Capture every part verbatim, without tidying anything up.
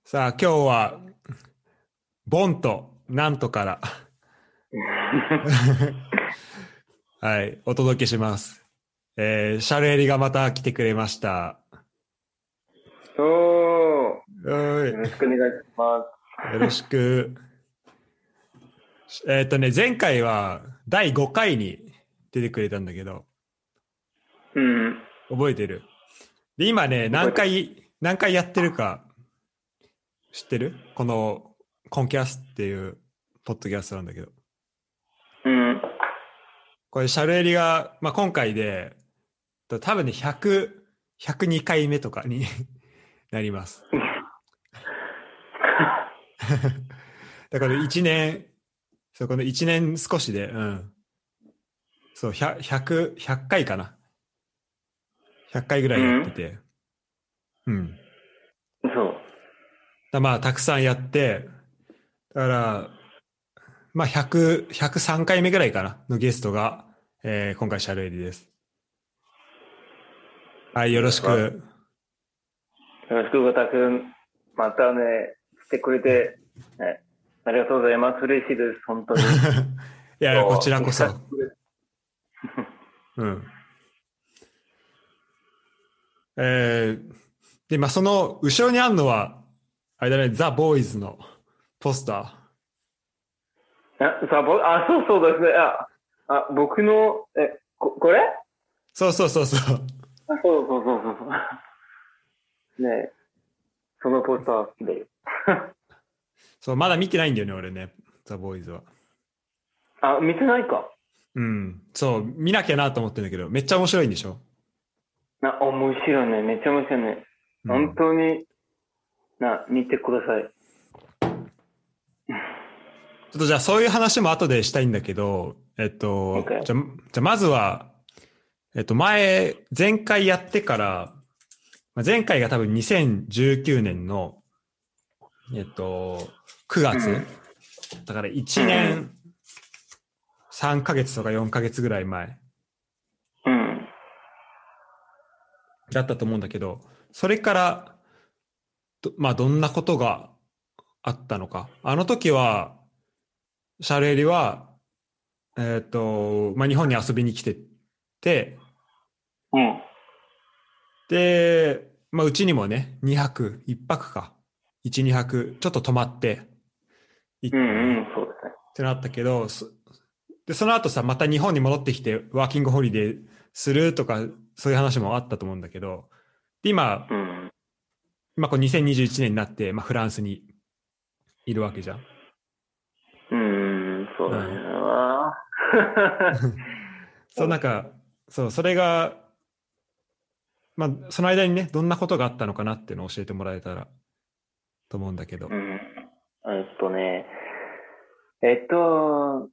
さあ、今日は、ボンとなんとから、はい、お届けします。えー、シャルエリがまた来てくれました。 おー、よおい、 ろしくお願いしまよろしく。えっとね、前回はだいごかいに出てくれたんだけど、 す。うん、 覚えてる？で、今ね、何覚えてる。 回、何回やってるか知ってる？この、コンキャスっていうポッドキャストなんだけど。 うん、 これ、シャルエリが、まあ、今回で、多分ね、ひゃく、ひゃくにかいめとかになります。だからいちねん、そう、このいちねん少しで、うん。そう、ひゃく、ひゃく、ひゃっかいかな。ひゃっかいぐらいやってうん、 て。うん。 そう。 だまあ、たくさんやって、だから、まあ、ひゃく、ひゃくさんかいめぐらいかな、のゲストが、えー今回、シャルエリです。はい、よろしわく。 よろしく、わたくん。またね、来てくれて、ね、ありがとうございます。嬉しいです、本当に。 いや、こちらこそ。 久しぶり。 うん。えー、で、まあ、その、後ろにあるのは、あれだね、ザ・ボーイズのポスター。 あ、さぼあ、そうそうですね。あ、あ僕の、え、こ、これあ、 そうそうそうそう。 そうそうそうそうそう。ね、そのポスター好きだよ。 そう、まだ見てないんだよね、俺ね、ザ・ボーイズは。 あ、見てないか。 うん。そう、見なきゃなと思ってるんだけど、めっちゃ面白いんでしょ？ な、面白いね。めっちゃ面白いね。本うん。 当に、な、見てください。 ちょっとじゃあそういう話も後でしたいんだけど、えっと、 OK。 じゃ、じゃあまずは、えっと前、前回やってから、まあ前回が多分にせんじゅうきゅうねんの、えっと、くがつ、 うん。 だから1 うん。 年さんかげつとかよんかげつぐらい前うん。 だったと思うんだけど、それからど、まあどんなことがあったのか。あの時は、シャルエリは、えっと、まあ日本に遊びに来てて、 うん。 で、まあうちにもね、にはく、いっぱくか。いち、にはく、ちょっと泊まって行っうん。 たのね。 うん。そうですね。 ってなったけど、そで、その後さ、また日本に戻ってきてワーキングホリデーするとか、そういう話もあったと思うんだけど、で、今、 うん。 今こうにせんにじゅういちねんになって、まあフランスにいるわけじゃん。 うん。そうだね。 うん。 あーそう、なんか、そう、それが、まあ、その間にね、どんなことがあったのかなっていうのを教えてもらえたらと思うんだけど。 うん。えっとね、えっと、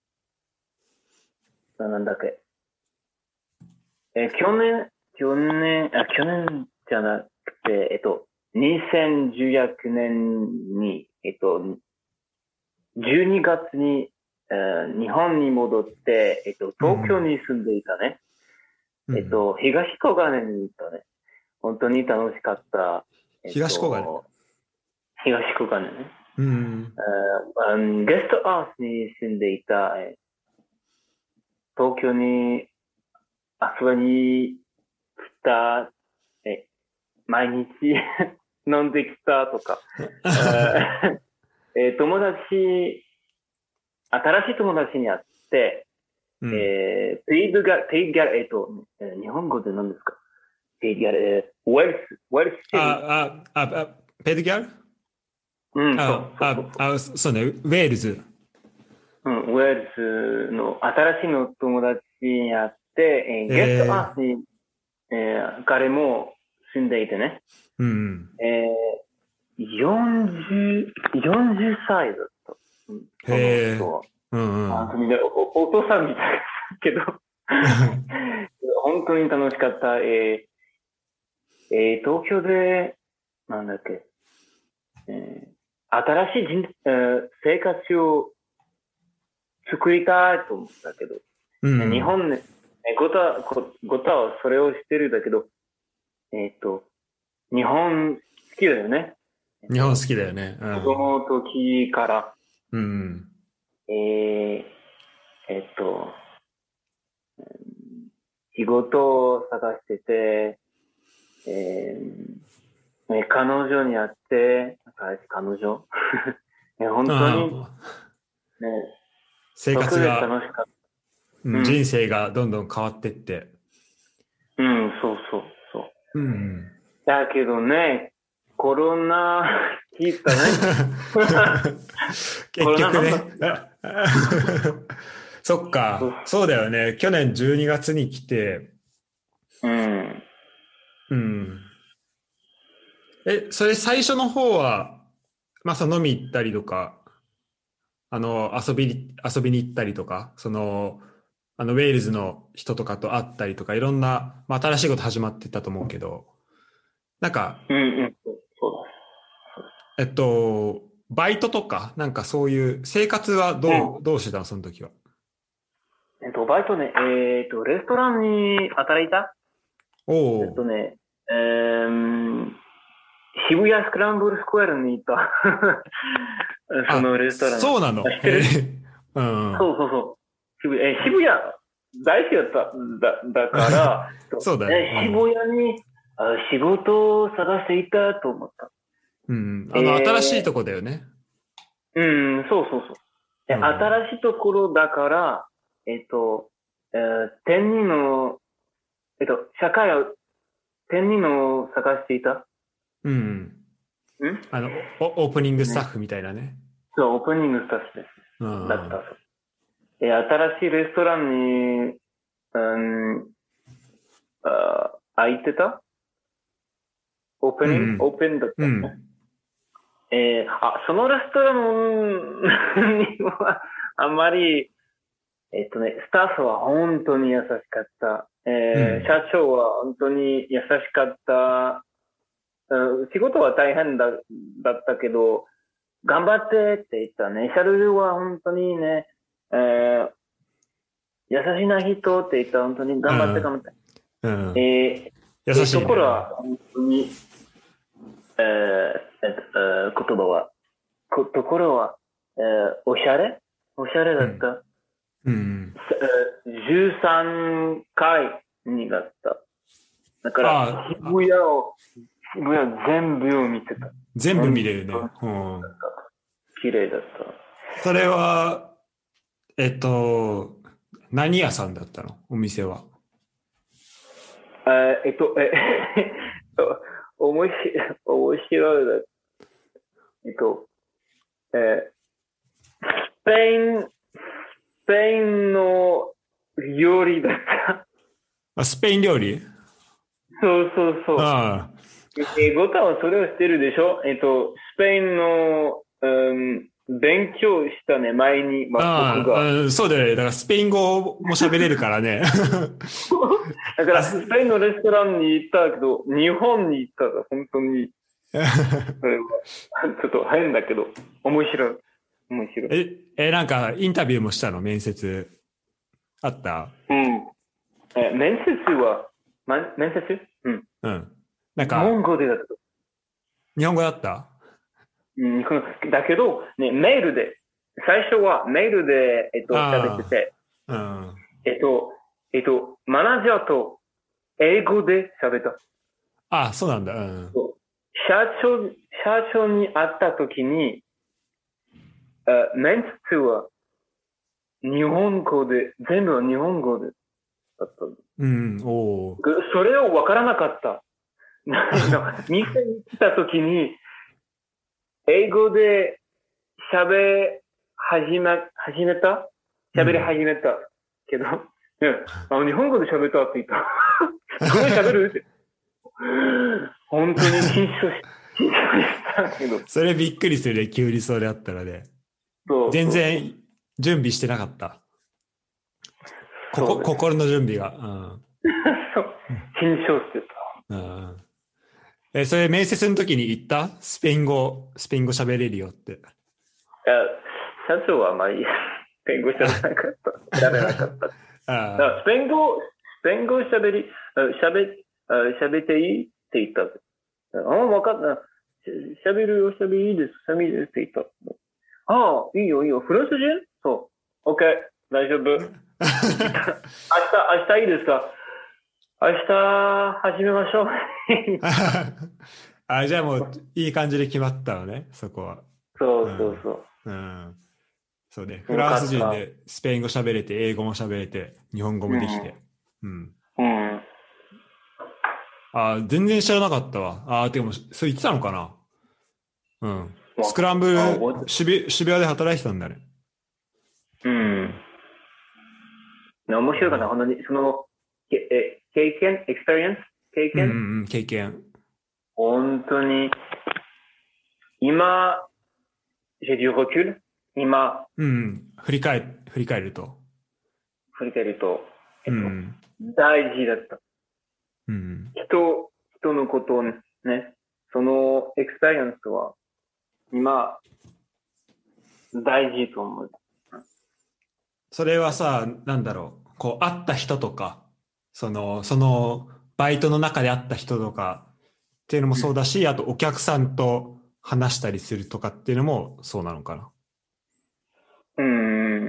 なんだっけ。え、去年、去年、あ、去年じゃなくて、えっと、にせんじゅうきゅうねんに、えっと、じゅうにがつに、えー日本に戻って、えっと、東京うんに住んでいたね。 うん。うんうん。 えっと、東小金に行ったね。本当に楽しかった。えっ東小金。 と、東小金ね。 うん。 あーゲストハウスに住んでいた、え東京に遊びに来た、え毎日飲んできたとか、えー友達、新しい友達に会って、 うん。 えー、ペイドガ、ペイギャラ、えっ、と、えー日本語で何ですか？ペイギャラ、えー、ウェルス、ウェルスシティ。 あ、あ、あ、あ、ペルギャル。 うん、そうあ、 そうそうあ、あ、そうね、ウェールズ。 そう。うん、ウェルスの新しいの友達に会って、えー、ゲストえー、 ハウスに、えー、彼も住んでいてね。 うん。 えー、よんじゅう、よんじゅっさいだった。うん、そのへえ。 人は。 うんうん。 あ、みんなお、お父さんみたいだけど、本当に楽しかった。えーえー、東京で、なんだっけ、えー新しい人、えー生活を作りたいと思ったけど、 うん。 日本ね、ごた、ごたはそれをしてるだけど、えっ、と、日本好きだよね。 日本好きだよね。う子供の時から、 ん。うん。 えー、えっと、仕事を探してて、えーね、彼女に会って、彼女ね、本当に、 ああ、 ね、 生そこで活が、 楽しかった。 うん、人うん、 生がどんどん変わってって。 うん、そうそうそう。 うん。 だけどね、コロナ聞いたね。コ結ロナ局ね。 なんだったそっか。そうだよね。去年じゅうにがつに来て、 うん。 うん。え、それ最初の方は、まあ、その飲み行ったりとか、あの、遊びに、遊びに行ったりとか、その、あの、ウェールズの人とかと会ったりとか、いろんな、まあ、新しいこと始まってたと思うけど、なんか、 うんうん、そうえっと、バイトとか、なんかそういう生活はだ。うどう、 ん。 どうしてたの、その時は。 えっと、バイトね、えっと、レストランに働いたおえっとお。 ね、えー、渋谷スクランブルスクエアに行った。そのあ、 レストラン。 そうなの。 あ、知ってへえ。 る？ うん。 そうそうそう。渋谷、え、渋谷、大好きだった。だ、だから、 そうだね。うえ、 ん。 渋谷にあ仕事を探していたと思った。 うん。あの、新しいとえこだよね。 ー、うん、そうそうそう。え、 うん。 新しいところだから、えっと、えー、天人の、えっと、社会を、天人の探していた。 うん。 んあの、オ、オープニングスタッね。 フみたいなね。 そう、オープニングスタッフです。 うだった。 ん。 え、新しいレストランに、うん、あ、空いてたオープニングうん。 オープンだっうん。うたね。 ん。 えーあ、そのレストランには、あんまり、えっとね、スタッフは本当に優しかった。えーうん。 社長は本当に優しかった。うん、仕事は大変だ、だったけど、頑張ってって言ったね。シャルルは本当にね、えー優しいな人って言ったら本当に頑張って頑張って。 うえん。優ー、えーとしいね。 ころは本当に、えーえっとえー言葉は、こところは、えーおしゃれおしゃれうん。 だった。 うん。 えーじゅうさんかいになった。だから、 ああ、 渋谷を、渋谷全部を見てた。 全部見本れるね。 当にうん。 綺麗だっそれは、えっと、何屋さんだったのお店は。 た。えーえっと、え、面白い、面白いだ。えっと、えースペイン、スペインの料理だった。 あ、スペイン料理。 そうそうそう。 あえ、ゴタはそれをしてるでしょ？えっと、スペインの、うん、勉強したね、前に、 あ、 ま、僕ああ、 が。 うん、そうだよね。だからスペイン語も喋れるからね。 だかあ、 ら、スすペインのレストランに行ったけど、日本に行ったら本当に、それは、ちょっと変だけど、面白い。面白い。 え、え、なんかインタビューもしたの面接あった？ うん。え、面接は、ま、面接うん。 うん。なん日本か、 語でだった。 日本語だった？ うん、このだけど、ね、メールで、最初はメールで、えっと、喋ってあて、 あ、うん。 えっと、えっと、マナージャーと英語で喋った。 ああ、そうなんだ。うん。 社長、社長に会った時に、あメンツは日本語で、全部は日本語でだった。 うん、おお。 それをわからなかった。店に来た時に、英語で喋始め、始めた喋りうん。 始めた。けど、ね、あ日本語で喋ったって言った。すごい喋るって。本当に緊張し、緊張したけど。 それびっくりするね、急にそれあったらね。 そうそうそう。 全然準備してなかった。ここ、 そうです。 心の準備が。 そう。 うん。 緊張してうん。え、それ面接の時に言ったスペイン語、スペイン語喋れるよって。 た。いや、社長はあまり、スペイン語喋らなかった。喋らなかった。だからあスペイン語、スペイン語喋り、喋、喋っていいって言った。あ、わかった。 しゃべるよ、しゃべりいいです、しゃべりいいですって言った。ああ、いいよ、いいよ。フランス人そう。OK、大丈夫。明日、明日いいですか明日始めましょう。 あ、じゃあもういい感じで決まったのね、そこは。 そうそうそう。 うん。うん、そうね。フよかった。 ランス人でスペイン語喋れて、英語も喋れて、日本語もできて。うん。 うん。うん、 あ、全然知らなかったわ。あ、でも、そう言ってたのかな。うん。スクランブル、渋渋谷で働いてたんだね。 うん。面白かった、本当に。その、え経験、エクスペリエンス経験、 うんうん、経験。 本当に、今、j'ai du recul。今、 うん、振り返、振り返ると。 振り返ると、えっと、 うん、 大事だった。 うん、 人、人のことをね、そのエクスペリエンスは、今、大事と思う。 それはさ、なんだろう。こう、会った人とか、その、その、バイトの中で会った人とかっていうのもそうだし、あとお客さんと話したりするとかっていうのもそうなのかな。 うん。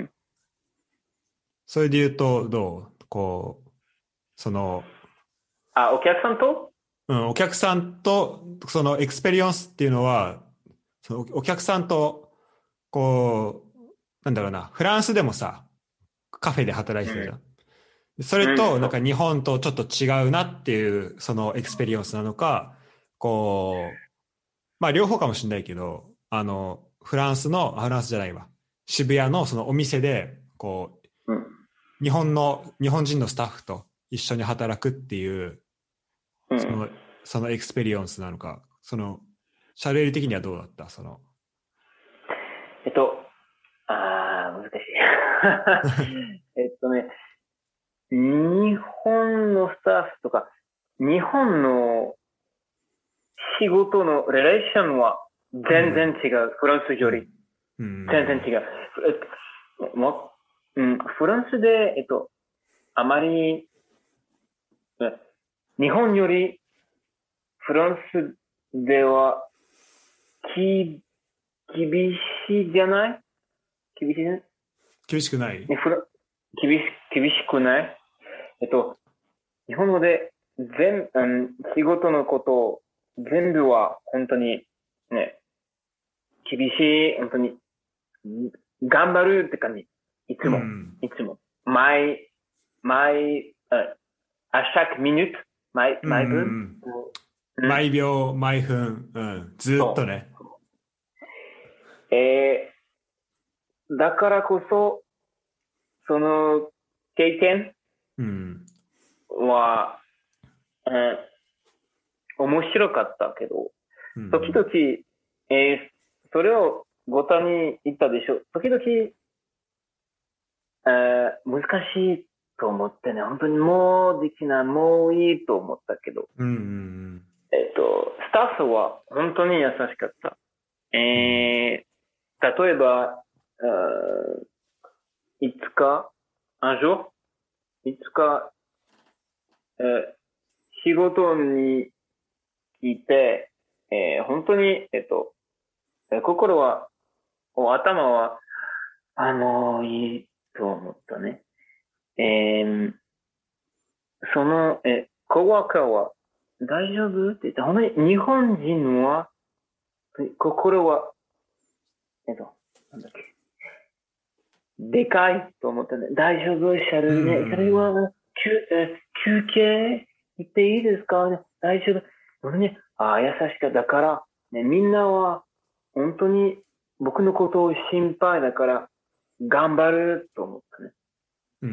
それで言うと、どうこう、その、 あ、お客さんとうん、お客さんと、そのエクスペリエンスっていうのは、そのお客さんと、こう、なんだろうな、フランスでもさ、カフェで働いてたじゃん。うん、それと、なんか日本とちょっと違うなっていう、そのエクスペリエンスなのか、こう、まあ両方かもしれないけど、あの、フランスの、フランスじゃないわ、渋谷のそのお店で、こう、うん、日本の、日本人のスタッフと一緒に働くっていう、その、そのエクスペリエンスなのか、その、シャレリ的にはどうだったその。 えっと、あー、難しい。えっとね、日本のスタッフとか、日本の仕事のレレーションは全然違う。うん、フランスより。うん、全然違う。えもうん、フランスで、えっと、あまり、日本よりフランスでは、き、厳しいじゃない厳しいね。 厳しくない、 ね、フラ厳し、厳しくないえっと、日本語で全、うん、仕事のことを全部は本当にね、厳しい、本当に、頑張るって感じ。いつも、うん、いつも。毎、毎、あ、chaque minute、毎、毎分、うんうん、毎秒、毎分、うん、ずっとね。 えー、だからこそ、その経験は、うん、面白かったけど、時々、えー、それをごたに言ったでしょ。時々、えー、難しいと思ってね、本当にもうできない、もういいと思ったけど、うんうんうん、えっと、スタッフは本当に優しかった。えー、例えば、いつか、un jour、いつか、えー、仕事にいて、えー、本当に、えっと、心は、頭は、あのー、いいと思ったね。えー、その、え、コワーカーは、大丈夫って言って、本当に日本人は、心は、えっと、なんだっけ、でかいと思ったね。大丈夫、シャルね。それは、休、え、休憩行っていいですかね。大丈夫。俺ね、ああ、優しかった。だから、ね、みんなは、本当に僕のことを心配だから、頑張ると思ったね。うん。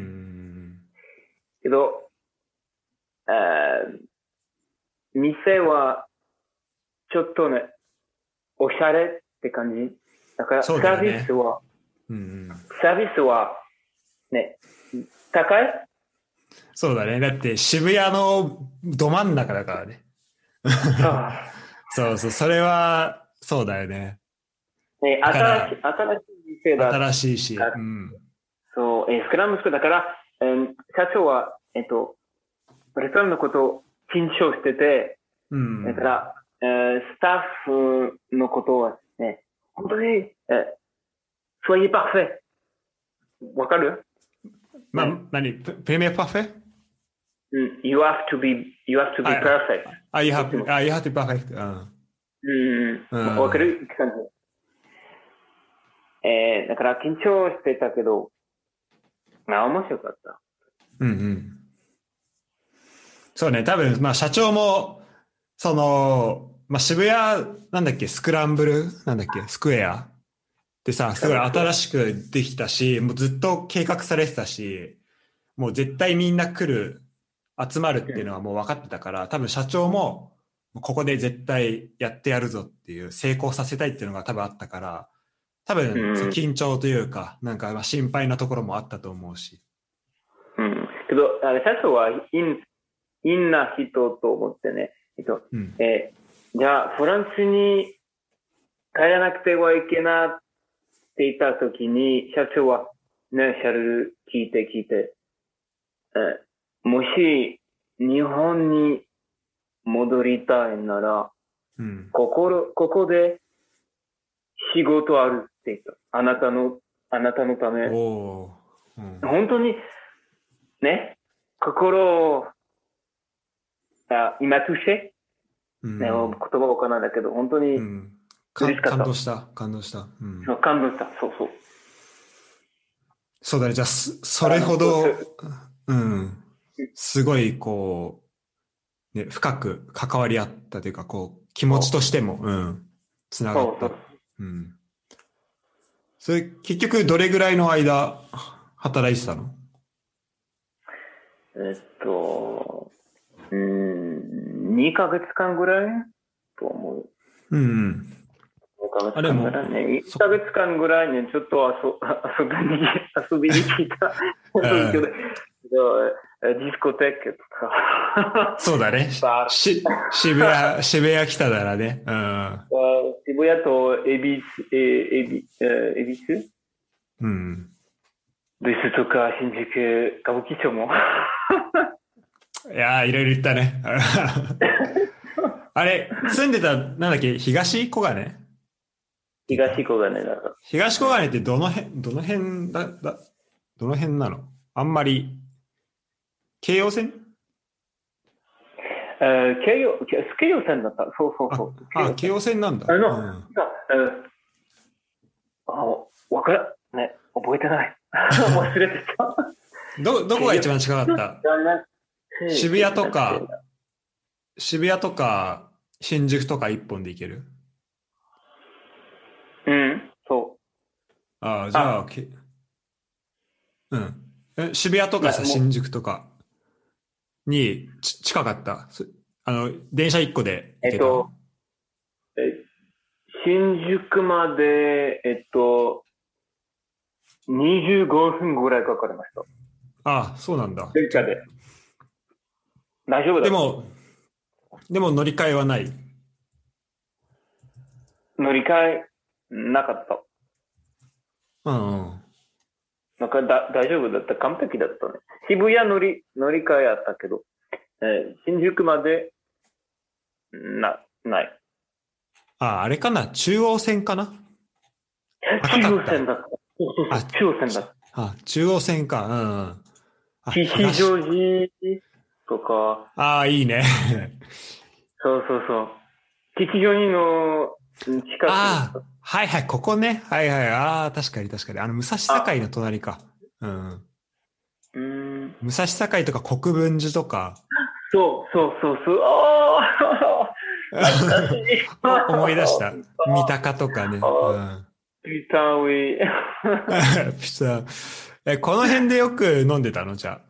けど、えー、店は、ちょっとね、おしゃれって感じ。だから、サービスは、うん、サービスは、ね、高い？ そうだね。だって渋谷のど真ん中だからね。そうそう、それは、そうだよね。 ね、新しい、新しい店だ。 新しいし。うん、 そう、えー、スクラムスクだから、えー、社長は、えっと、レストランのことを緊張してて、うん、だから、 えースタッフのことはね、本当に、えー、soyez parfait。わかる？ まあ、 ね何ププレミアパフェ？ うん、you have to be, you have to be あ、 perfect。 あ、you どっち have, も。 あ、you have to be perfect. うんうんううん。わかんる感じ。えー、だから緊張してたけど、まあ面白かった。 うんうん。そうね、多分、まあ社長も、その、まあ渋谷、なんだっけ、スクランブルなんだっけ、スクエアでさ、すごい新しくできたし、もうずっと計画されてたし、もう絶対みんな来る、集まるっていうのはもう分かってたから、多分社長も、ここで絶対やってやるぞっていう、成功させたいっていうのが多分あったから、多分、そううん。 緊張というか、なんかまあ心配なところもあったと思うし。 うん。けど、あれ、社長は陰、陰な人と思ってね、えっと、 うん。 えーじゃあ、フランスに帰らなくてはいけなっていたときに、社長は、ね、シャルル聞いて聞いて、えーもし、日本に戻りたいなら、 うん。 ここ、ここで仕事あるって言った。あなたの、あなたのため。 おお。うん。 本当に、ね、心を、あ今touché、ね、 うん言葉わからないんだけど、本当にうん。か嬉しかった。 感動した。感動した。うん。 そう感動した。そうそう。 そうだね。じゃあ、そそれあの、そうほど、うん。すごい、こう、ね、深く関わり合ったというか、こう、気持ちとしても、うん、つながった。 そうそう。 うん。それ、結局、どれぐらいの間、働いてたの？ えっと、うーん、にかげつかんぐらいと思う。 うんうん。 にかげつあ、でも、 かんぐらいね。いっそ、 かげつかんぐらいね、ちょっと遊遊びに、遊びに来た。 う遊びに来ん、 たディスコテークとか。 そうだね。 バーし、渋谷、渋谷来たならね。うん。 渋谷と恵比寿、え恵比え恵比寿うん。 ですとか、新宿、歌舞伎町も。 いやー、いろいろ言ったね。あれ、住んでた、なんだっけ、東小金って言った東小金だと。 東小金ってどの辺、どの辺だ、だ、どの辺なの？あんまり、京葉線？ えー、京葉、京葉線だった。そうそうそう。 あ、あ、京葉線なんだ。 あの、 うん。 さえー、あ、わかる、ね、覚えてない。忘れてた。 ど、どこが一番近かった？渋谷とか、渋谷とか、新宿とか一本で行ける？ うん、そう。 ああ、じゃあ、 あ、 け、うん。え渋谷とかさ、 なもう、 新宿とかにち近かった？そあの、電車一個で行けた？ えっと、え新宿まで、えっと、にじゅうごふんぐらいかかりました。 ああ、そうなんだ。じゃ、 電車で。大丈夫だった。 でも、でも乗り換えはない？ 乗り換えなかった。 うんうん。 なんかだ大丈夫だった。完璧だったね。渋谷乗り、乗り換えあったけど、えー新宿まで、な、ない。 ああ、あれかな？中央線かな？高中かった？ 央線だった。そうそうそあ、 う、中央線だった。 あ、中央線か。うんうん。あ、 吉東。 祥寺とか、 ああ、いいね。 そうそうそう。吉祥寺の近くだった。 ああ、はいはい、ここね。はいはい。ああ、確かに確かに。あの、武蔵あ、 境の隣か。うん。 うーん。 武蔵境とか国分寺とか。 そうそうそうそう。ああ懐かしい。 お思い出した。三鷹とかね。うあん。 ピタウィ。 ピザ。え、この辺でよく飲んでたの？じゃ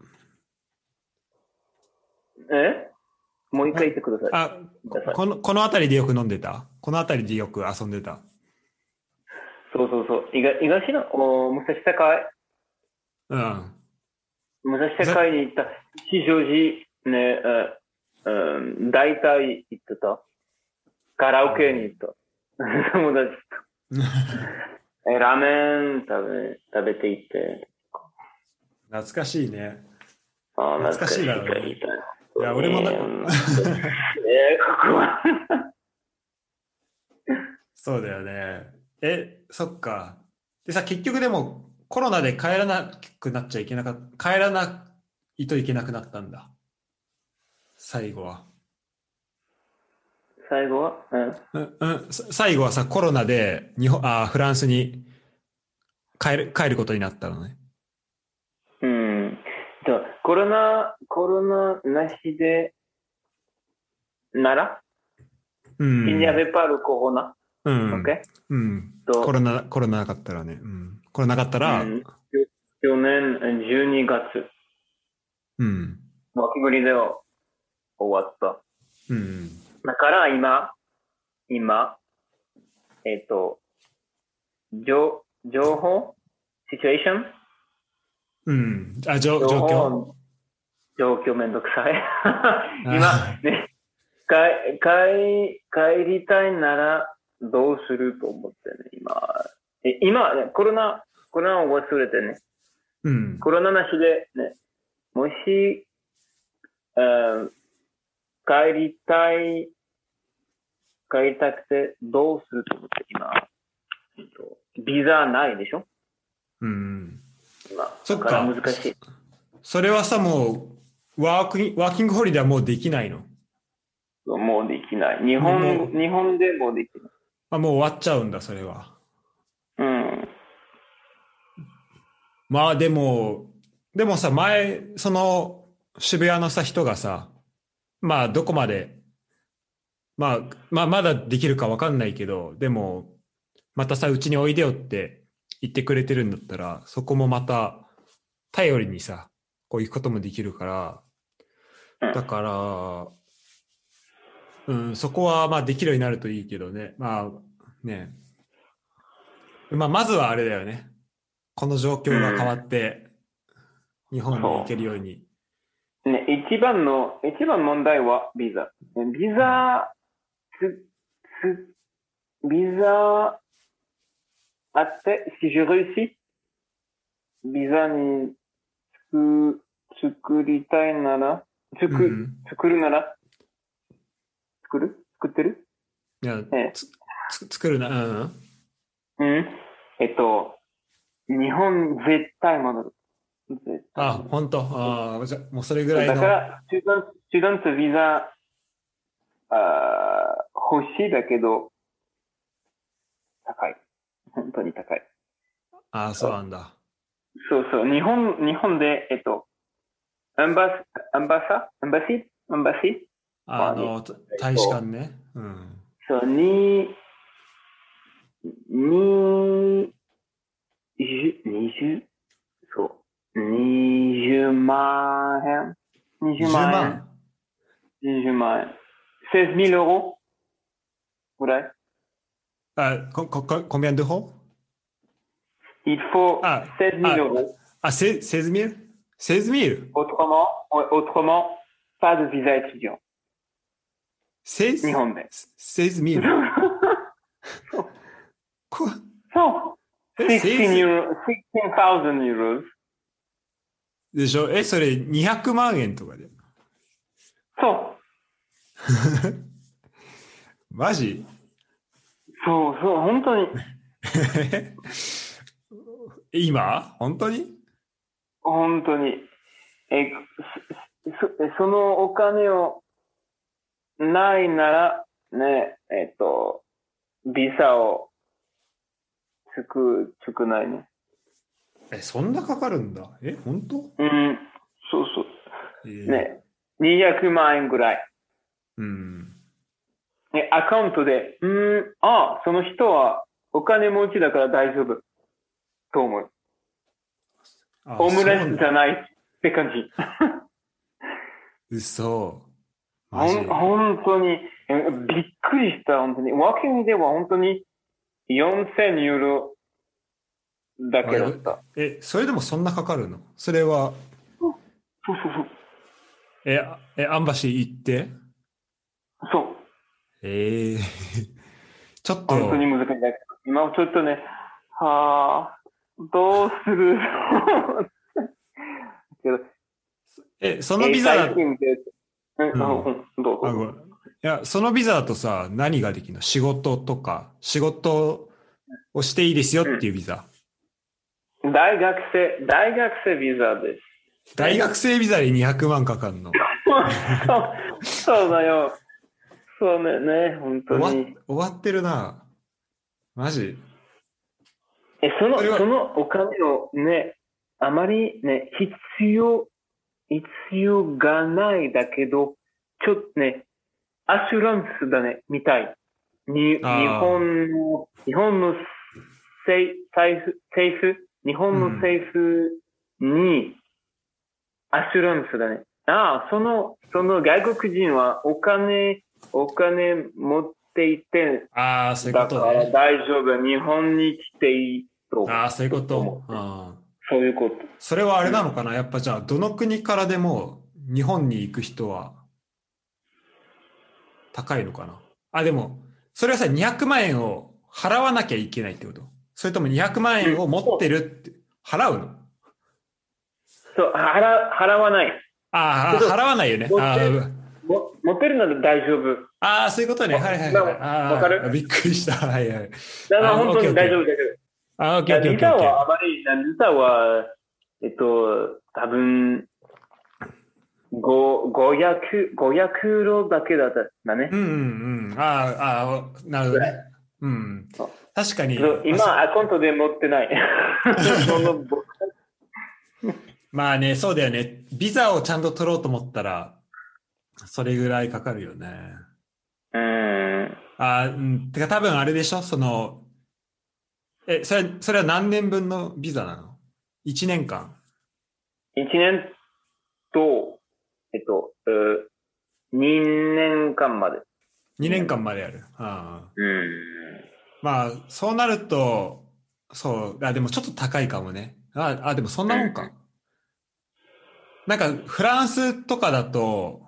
えもう一あ。 回言ってください。 あ、 ください。 この、この辺りでよく飲んでた？この辺りでよく遊んでた？ そうそうそう。東東の、お武蔵境、 うん。 武蔵境に行った。吉祥寺ね、うん、大体行ってた。カラオケに行った。友達と。え、ラーメン食べ、食べて行って。 懐かしいね。 ああ、 懐か懐かしいかしいだろうね。 言いたい。 いや、俺もな、 えー、ここはそうだよね。え、そっか。でさ、結局でもコロナで帰らなくなっちゃいけなかった、帰らないといけなくなったんだ。最後は。 最後は、うん。 うんうん、さ最後はさ、コロナで日本、あ、フランスに帰る、帰ることになったのね。 うん。じゃあコロナ、コロナなしで、なら、 う il n'y ん。 avait pas le corona, うん。 OK? うん。コロと、 ナ、コロナなかったらね。うん。コロナなかったら、 うん、去年じゅうにがつ、 うん。 脇ぶりで終わった。 うん。 だから今、今、えっ、と、情情報シチュエーションうん。あ、じょ情状況報状況めんどくさい。今、 あね、帰帰帰りたいならどうすると思ってね、今。え今、ね、コロナ、コロナを忘れてね、 うん。 コロナなしでね、もし、えー帰りたい、帰りたくてどうすると思って今、えっと、ビザないでしょうん。 今。 そっだから難か。 しい。 それはさ、もう、ワークイン、ワーキングホリデーはもうできないの？ もうできない。日もう、 本、 もう、 日本でもできない。 あ、もう終わっちゃうんだ、それは。 うん。 まあでも、でもさ、前、その渋谷のさ、人がさ、まあどこまで、まあ、まあまだできるかわかんないけど、でも、またさ、うちにおいでよって言ってくれてるんだったら、そこもまた頼りにさ、こういうこともできるから、 うん。 だから、うん、そこはまあできるようになるといいけどね。まあね、まあまずはあれだよね。この状況が変わうん。 って日本に行けるように。 ね、一番の、一番問題はビザ。ビザ、つ、つ、ビザあって、si je réussis、ビザにつく、作りたいなら、つく、 うん。 作るなら、作る作ってるいや、 えつ、つ、作るな、うん。 うん。えっと、日本絶対戻る。絶対あ、 戻る。 本当。ああ、じゃあもうそれぐそうらいの。 だから、スチューデント、スチューデントビザ、あ欲しいだけど、高い。本当に高い。 ああ、そうなんだ。 そうそう。日本、日本で、えっと、アンバス、アンバサアンバシアンバシまあ、に、えあの、大使館っと、 ね。うん。 そう、に、に、じゅ、にじゅう、そう、にじゅうまん円 ?にじゅう 20 万円万。 ?にじゅう 万円。じゅうまんユーロぐらいあ、こ、こ、こ、combien d'euros? Il faut あ、 じゅうまんあ、 euros. あ、せseize mille? seize mille? Autrement, ouais, autrement, pas de visa étudiant. 日 seize? 本で。 seize そう mille? こ、 そう。 え、 じゅうろく seize? euro, sixteen thousand euros. でしょ？え、それにひゃくまん円とかで。 そう。 マジ？ そうそう、本当に。 今本当に？ 本当に。え、そ、そのお金をないなら、ね、えっと、ビザをつく、つくないね。 え、そんなかかるんだ。え、本当？ うん、そうそう。 えーね、にひゃくまん円ぐらい。 うん。 ね、アカウントで、うん、あ、その人はお金持ちだから大丈夫。と思う。 あ、 オムレそうな。 ツじゃないって感じ。 嘘。マほん、 ジ。 本当に、えびっくりした、本当に。ワーキングでは本当によんせんユーロだあ、え、 けだった。 え、それでもそんなかかるの？それは、 そうそうそう。 え、あえ、アンバシー行って？ そう。 ええちょっ本当にと、 難しい。今ちょっとね、はあ、どうするけど、 え、そのえー、 ビザだ、 最近で、うん、 うん。 うん、どうぞあ、 どうぞ。 ごめん。 や、そのビザだとさ、何ができるの？仕事とか、仕事をしていいですよっていうビザ。 うん、大学生、大学生ビザです。 大学生ビザでにひゃくまんかかんの？ そう、そうだよ。そうね、ね、本当終わ、 に。 終わってるな。マジ？ え、その、 それは、 そのお金をね、あまりね、必要、必要がないだけど、ちょっとね、アシュランスだね、みたい。に、日ああ、 本の、日本の政財布、政府、日本のうん。 政府にアシュランスだね。ああ、その、その外国人はお金、お金持っていて、 ああ、そういうこだからとね。 大丈夫。日本に来ていいとああ、そういうこ思う。 と。ああ。 そういうこと。 それはあれうん。 なのかな？やっぱじゃあ、どの国からでも日本に行く人は高いのかな？あ、でも、それはさ、にひゃくまん円を払わなきゃいけないってこと？それともにひゃくまん円を持ってるって払うの？ そう、払、払わない。 ああ、 けど、 払わないよね。 持って、 あーも持ってるなら大丈夫。 あー、そういうことね。はいはいはい。 わ、わかる。 ああ、びっくりした。はいはい。 だからあー、 本当に大オッケーオッケー。 丈夫だけど。 あー、オッケーオッケーオッビザケーオッケー。 はあまり、ビザは、えっと、多分、ご、ごひゃく、ごひゃくユーロだけだっただね。 うんうんうん。ああ、ああ、なるほどね。 ぐらい。 うん。 そう確かに、 けど、 まあ、そ今、アカウントで持ってない。その、ぼまあね、そうだよね。ビザをちゃんと取ろうと思ったら、それぐらいかかるよね。 うーん。 あー、うん。てか多分あれでしょ？その、え、それ、それは何年分のビザなの？ いち 年間？ いちねんと、えっと、にねんかんまで。 に 2 年年まで。 間までやる。ああ。 うん。 まあ、そうなると、そう、あ、でもちょっと高いかもね。あ、あ、でもそんうん。 なもんか。なんか、フランスとかだと、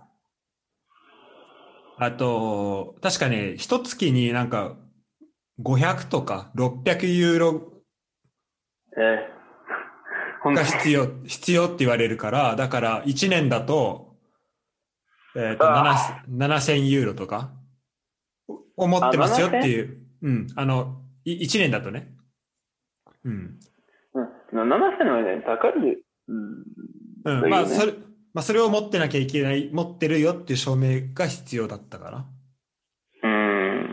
あと、確かね、一月になんかごひゃくとかろっぴゃくユーロえー、本当に。 が必要、必要って言われるから、だからいちねんだと、えっと、 あななせんユーロとかを持っあ、 てますよってななせん？ いう、うん、あの、いいちねんだとね。うん。 うん。ななせんはね、高い、うん、 うん、まあ、そだよね。 れ、まあ、それを持ってなきゃいけない、持ってるよっていう証明が必要だったから。 うん。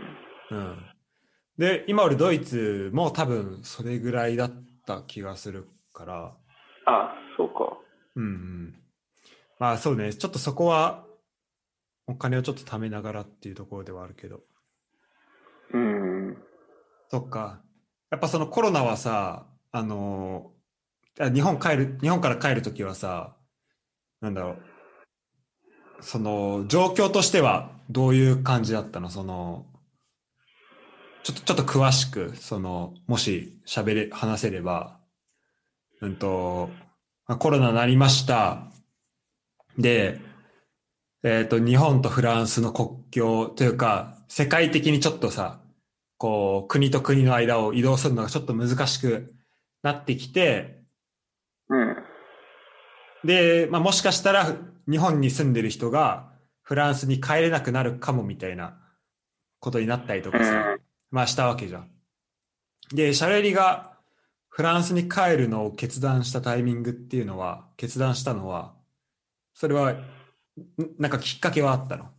うん。で、今俺ドイツも多分それぐらいだった気がするから、 あ、そうか。 うんうん。まあそうね、ちょっとそこはお金をちょっと貯めながらっていうところではあるけど。 うん。 そっか。やっぱそのコロナはさ、あのあ日本帰る、日本から帰るときはさ、なんだろう、その状況としてはどういう感じだったの？その、ちょっと、ちょっと詳しく、その、もし喋れ、話せれば、うんと、まあコロナになりました。で、えっと、日本とフランスの国境というか、世界的にちょっとさ、こう、国と国の間を移動するのがちょっと難しくなってきて、 うん。 で、まあ、もしかしたら日本に住んでる人がフランスに帰れなくなるかもみたいなことになったりとかさ、 うん。 まあしたわけじゃん。で、シャレリがフランスに帰るのを決断したタイミングっていうのは、決断したのは、それは、んなんかきっかけはあったの？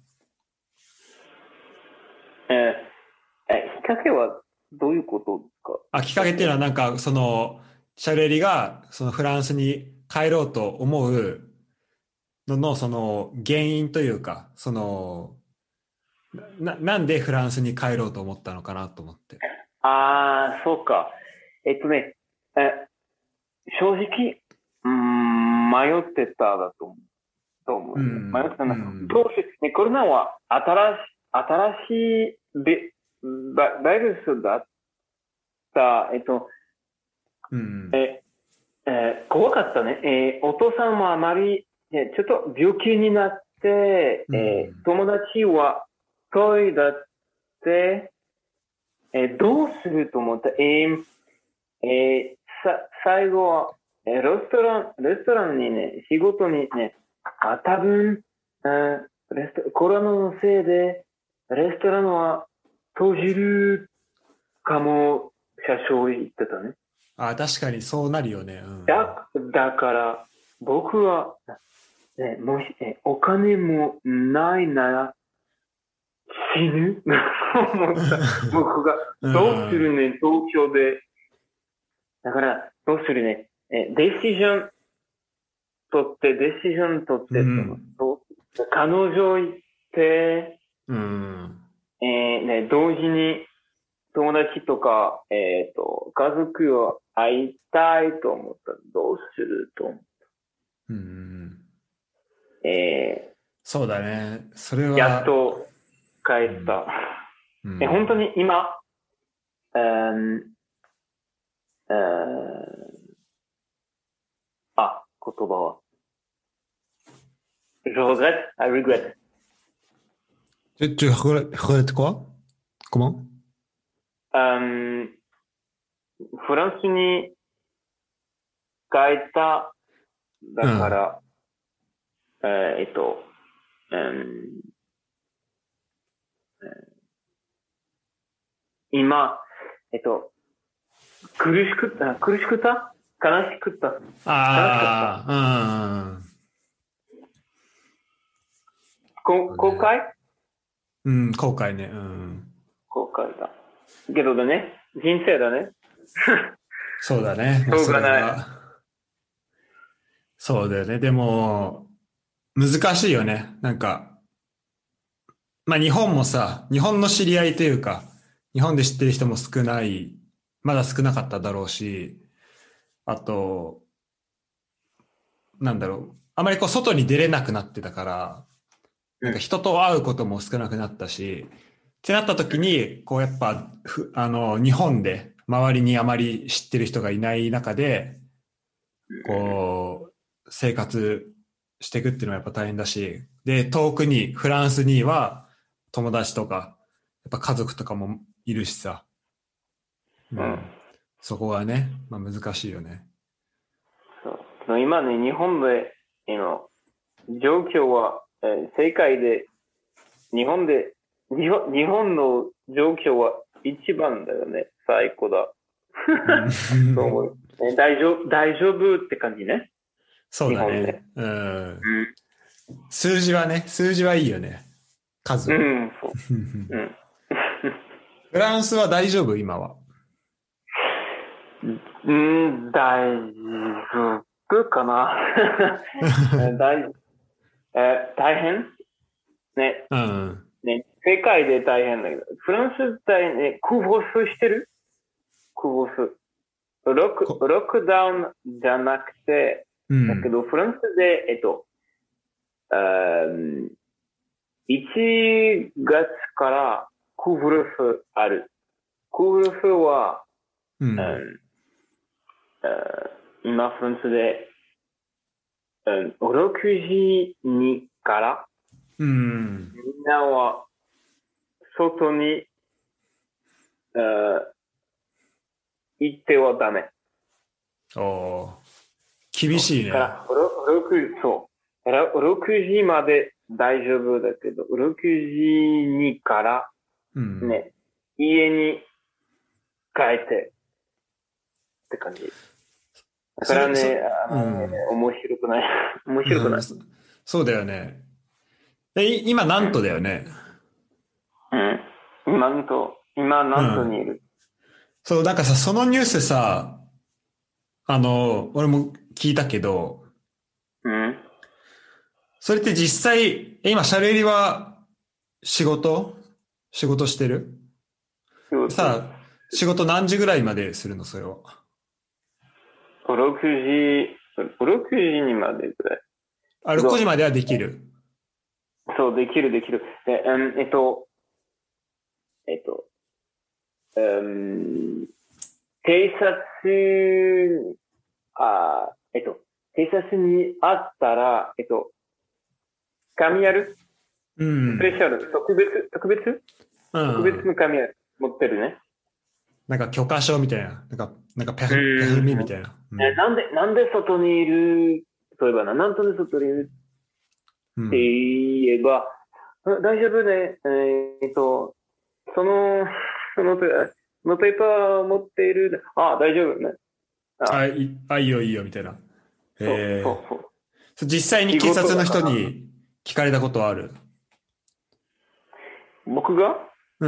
えー、え、きっかけはどういうことですか？ あ、きっかけっていうのはなんか、その、シャルエリが、そのフランスに帰ろうと思うのの、その、原因というか、その、な、なんでフランスに帰ろうと思ったのかなと思って。 ああ、そうか。えっとね、え、正直、うーん、迷ってただと思う。と思ううね。迷っん、 てたんだけど、 うん、 どうし、ね、コロナは新し、新しいべ、ババイルスだった、えっと、 うん、 え、えー怖かったね。えーお父さんもあまり、ね、ちょっと病気になって、 うん、 えー友達は遠いだって、えーどうすると思った？えーえーさ、最後は、えーレストラン、レストランにね、仕事にね、あ、多分、うんレスト、コロナのせいで、 レストランは閉じるかも、社長言ってたね。 あ、確かにそうなるよね。うん、 だ、だから、僕は、ね、もし、えお金もないなら死ぬ思った。僕が、どうするね、東京で。だから、どうするね。え、デシジョン取って、デシジョン取って、うん、彼女行って、 うん、 えー、ね、同時に友達とか、えっ、ー、と、家族を会いたいと思ったらどうすると思った。 うん、 えー、 そうだね。それは。 やっと帰った。うんうん、え本当に今、えーえー、あ、言葉は。Je regrette, I regret. Tu, tu regrettes quoi? Comment? うんフランスに帰っただから、うん、えー、えっと、うん今、えっと、苦しくった、苦しくった悲しくった。 ああ、うん。 こ後悔うん、後悔ね。うん。 後悔だ。けどだね、人生だね。 そうだね。 しょうがない。 そうだよね。でも、難しいよね。なんか、まあ日本もさ、日本の知り合いというか、日本で知ってる人も少ない、まだ少なかっただろうし、あと、なんだろう、あまりこう外に出れなくなってたから、なんか人と会うことも少なくなったし、ってなった時に、こうやっぱ、あの、日本で周りにあまり知ってる人がいない中で、こう、生活していくっていうのはやっぱ大変だし、で、遠くに、フランスには友達とか、やっぱ家族とかもいるしさ。うん。うん、そこはね、まあ難しいよね。 そう。今ね、日本で、今、状況は、えー、世界で、日本で、日本日本の状況は一番だよね。最高だ。そう思う、えー。大丈夫、大丈夫って感じね。 そうだね。うん、うん。数字はね、数字はいいよね。数は。うん、そう。うん、フランスは大丈夫今は。 うん、大丈夫かな。大, え大変ね。 うん。 ね、世界で大変だけど、フランス大ね、空母数してる空母数。ロック、ロックダウンじゃなくて、うん、だけど、フランスで、えっと、いちがつからクーブルフある。クーブルフは、うんうん、今フランスで、うん、ろくじにから、うん、みんなは外に、行ってはダメ。 お厳しいね。 からろくそう。ろくじまで大丈夫だけど、ろくじにから、ね、うん、家に帰ってって感じ。だからね、あのね、うん、面白くない。面白くない、うん。 そうだよね。え、今、なんとだよね。 うん。今、なんと、今、なんとにいる、うん。 そう、なんかさ、そのニュースさ、あの、俺も聞いたけど、うん。それって実際、今、シャレリは仕事仕事してるさあ、仕事何時ぐらいまでするのそれは。 ろくじ、ろくじにまでぐらい。 あ、ろくじまではできる。 そう、できる、できる。で、うん、えっと、えっと、うん、偵察、あ、えっと、偵察にあったら、えっと、紙ある、うん、スペシャル、特別、特別、うん、特別の紙ある、持ってるね。 なんか許可証みたいな。なんか、なんかペフ、ペフミみたいな、 うんえ。なんで、なんで外にいる、例えばな、なんで外にいるって言えば、 大丈夫ね。えーっと、その、その、そのペーパー持っている。あ、大丈夫ね。 あ、 あ、 いあ、いいよいいよ、みたいな。 そう、そう、 えそう。 ー、実際に仕警察の事だから。 人に聞かれたことはある？ 僕が、 うん。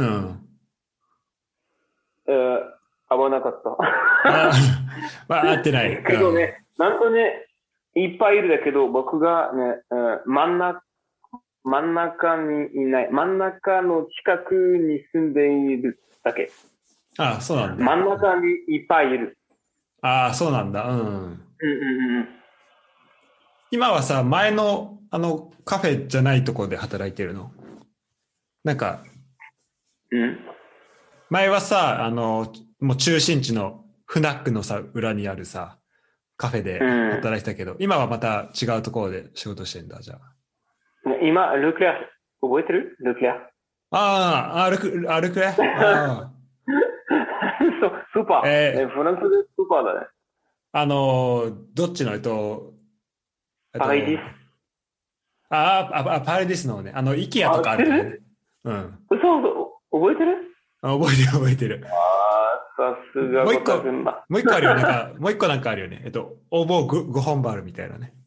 えー、危なかった。 あ、まあ、合ってない。うん。 けどね、なんとね、いっぱいいるだけど、僕がね、うん真ん中、真ん中にいない。真ん中の近くに住んでいるだけ。 あ、そうなんだ。 真ん中にいっぱいいる。 ああ、そうなんだ。うん。 うんうんうん今はさ、前の、あの、カフェじゃないところで働いてるの？なんか、 うん。うん。 前はさ、あの、もう中心地のフナックのさ、裏にあるさ、カフェでうん。 働いてたけど、今はまた違うところで仕事してんだ、じゃ今、ルクレア、覚えてるルクレア。 あ。ああ、歩く、歩くね。ああ。 そう、スーパー。ね、 えー、 フランスでスーパーだね。 あのーどっちの、えっと、えっパライディス。 と、ああ、あ、あパレディスのね、あの、イケアとあ、 かあ知ってる？ るとこね。うん。 そうそう、覚えてる？ あ、覚えてる覚えてる。 ああ、さすがゴもう一個、 タ君だ。 もう一個あるよ。なんか、もう一個なんかあるよね。えっと、応募ごご本バルみたいなね。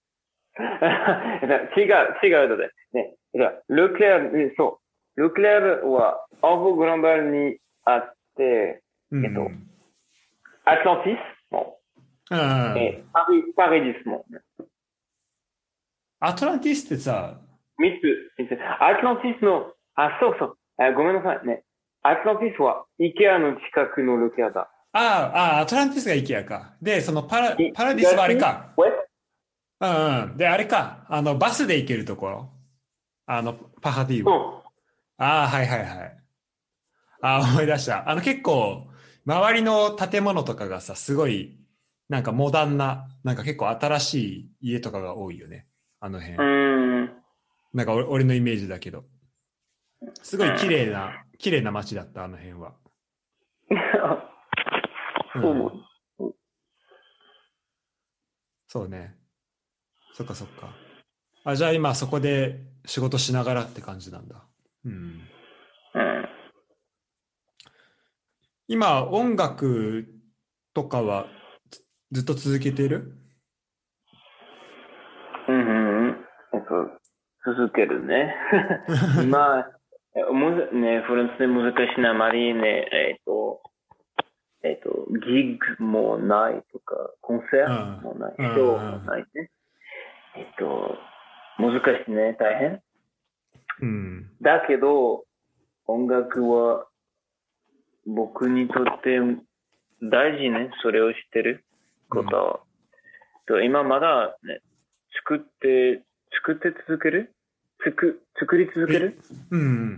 違う、違うので。ね、じゃあ、ルクレアル、そう。ルクレアルは、オーブ・グランバルにあって、 うえっと、 ん。 アトランティスも、 うん。 え、パリ、パリディスも、 アトランティスってさ、 三つ、三つ。アトランティスの、あ、そうそう。あごめんなさいね。アトランティスは、イケアの近くのルクレアだ。 ああ、ああ、アトランティスがイケアか。で、そのパラ、 いパラディスはあれ東か。 ウェスうんうん。で、あれか。あの、バスで行けるところ。あの、パハディは。 トああ、はいはいはい。ああ、思い出した。あの、結構、周りの建物とかがさ、すごい、なんかモダンな、なんか結構新しい家とかが多いよね。あの辺。 うーん。 なんか俺俺のイメージだけど。すごい綺うん。 麗な、綺麗な街だった、あの辺は。うそう。 ん。そうね。そっかそっか。あ、じゃあ今そこで仕事しながらって感じなんだ。うん。 うん。 今、音楽とかはつずっと続けてる？ うんうん。えっと、続けるね。今、えむずね、フランスで難しいな、あまりね、えっと、えっと、ギグもないとか、コンサうん。 ートもない、 うん。 ショーうん。 もないね。えっと、難しいね、大変。 うん。 だけど、音楽は僕にとって大事ね、それを知ってるうん。 ことは。と今まだね、作って、作って続ける作、作り続けえ、 るうん。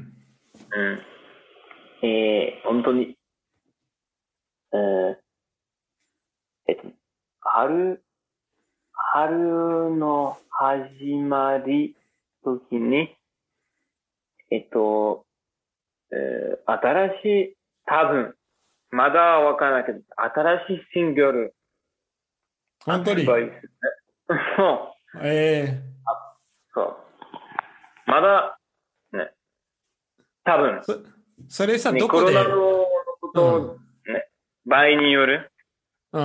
うん。えー、本当に、えー、えっと、春、春の始まり時に、えっと、えー、新しい、多分、まだわからないけど、新しいシングル本当に？ 発売する。そう、 えそう。まだ、ね、多分、 ー、そ、それさ、 ね、 どコロナのこで、 ことを、 うん。 ね、場合による。 うん。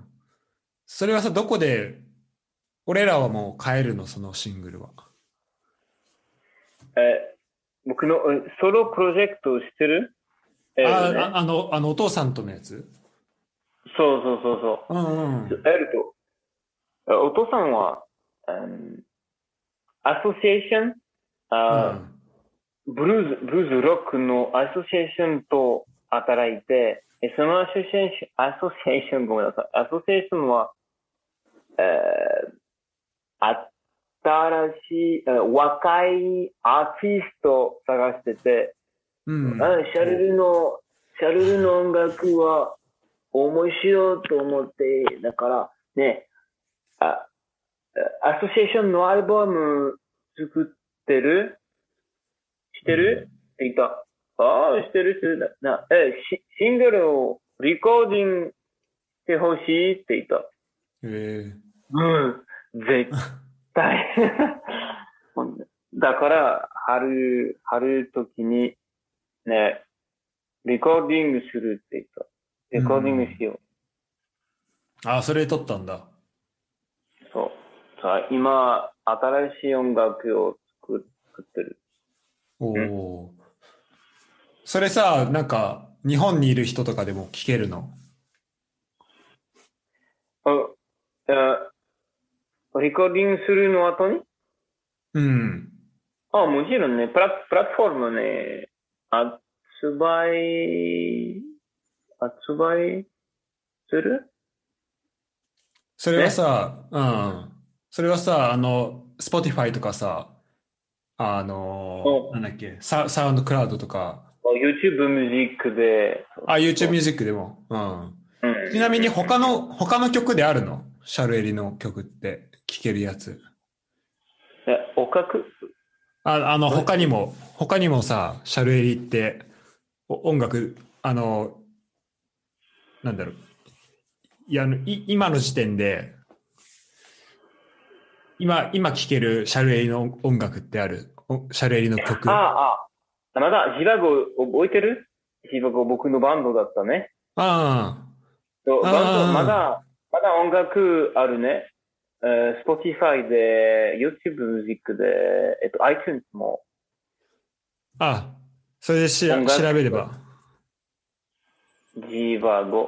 それはさ、どこで、俺らはもう買えるの、そのシングルは？ えー僕のえソロプロジェクトを知ってる？エルあ、あ、 ね。 あの、あの、お父さんとのやつ？ そうそうそううんうそう。 ん。 エルと、お父さんは、うん、アソシエーション、あうん。 ブルーズ、ブルーズロックのアソシエーションと働いて、えそのアソシエーション、アソシエーション、ごめんなさい。アソシエーションは、えー、新しい、えー若いアーティストを探してて、 うあん。 シャルルの、シャルルの音楽は面白いと思って、だからね、あ、アソシエーションのアルバム作ってるしうん。 てるって言った。ああ、してるしてる。な、え、シシングルをリコーディングしてほしいって言った。 えうん、絶対。だから、 春、春時に、ね、レコーディングするって言った。レコーディングしよう。 うん、ああ、それで撮ったんだ。 そう。さあ、今、新しい音楽を作作ってる。 おお、うん。それさ、なんか、日本にいる人とかでも聴けるの？ あ、あ、レコーディングするの後にうん。 あ、もちろんね、プラプラットフォームね、発売、発売するそれはさ、ね、うん。それはさ、あの、Spotify とかさ、あの、なんだっけ、サ、サウンドクラウドとか。 YouTube ミュージックで。 あ、YouTube ミュージックでも。うん。 うん、 ちなみに他の、他の曲であるの？シャルエリの曲って聴けるやつ。 え、おかくあ、あの、他にも、他にもさ、シャルエリって音楽、あの、なんだろう。いや、い今の時点で、今、今聴けるシャルエリの音楽ってある？シャルエリの曲。 ああ、あ、まだ、ジバゴ覚えてる？ジバゴ僕のバンドだったね。 ああ。バンド、まだ、まだ音楽あるね。えー、Spotify で、YouTube ミュージックで、えっと、iTunes も。 あ、それでし調べれば。 ジバゴ。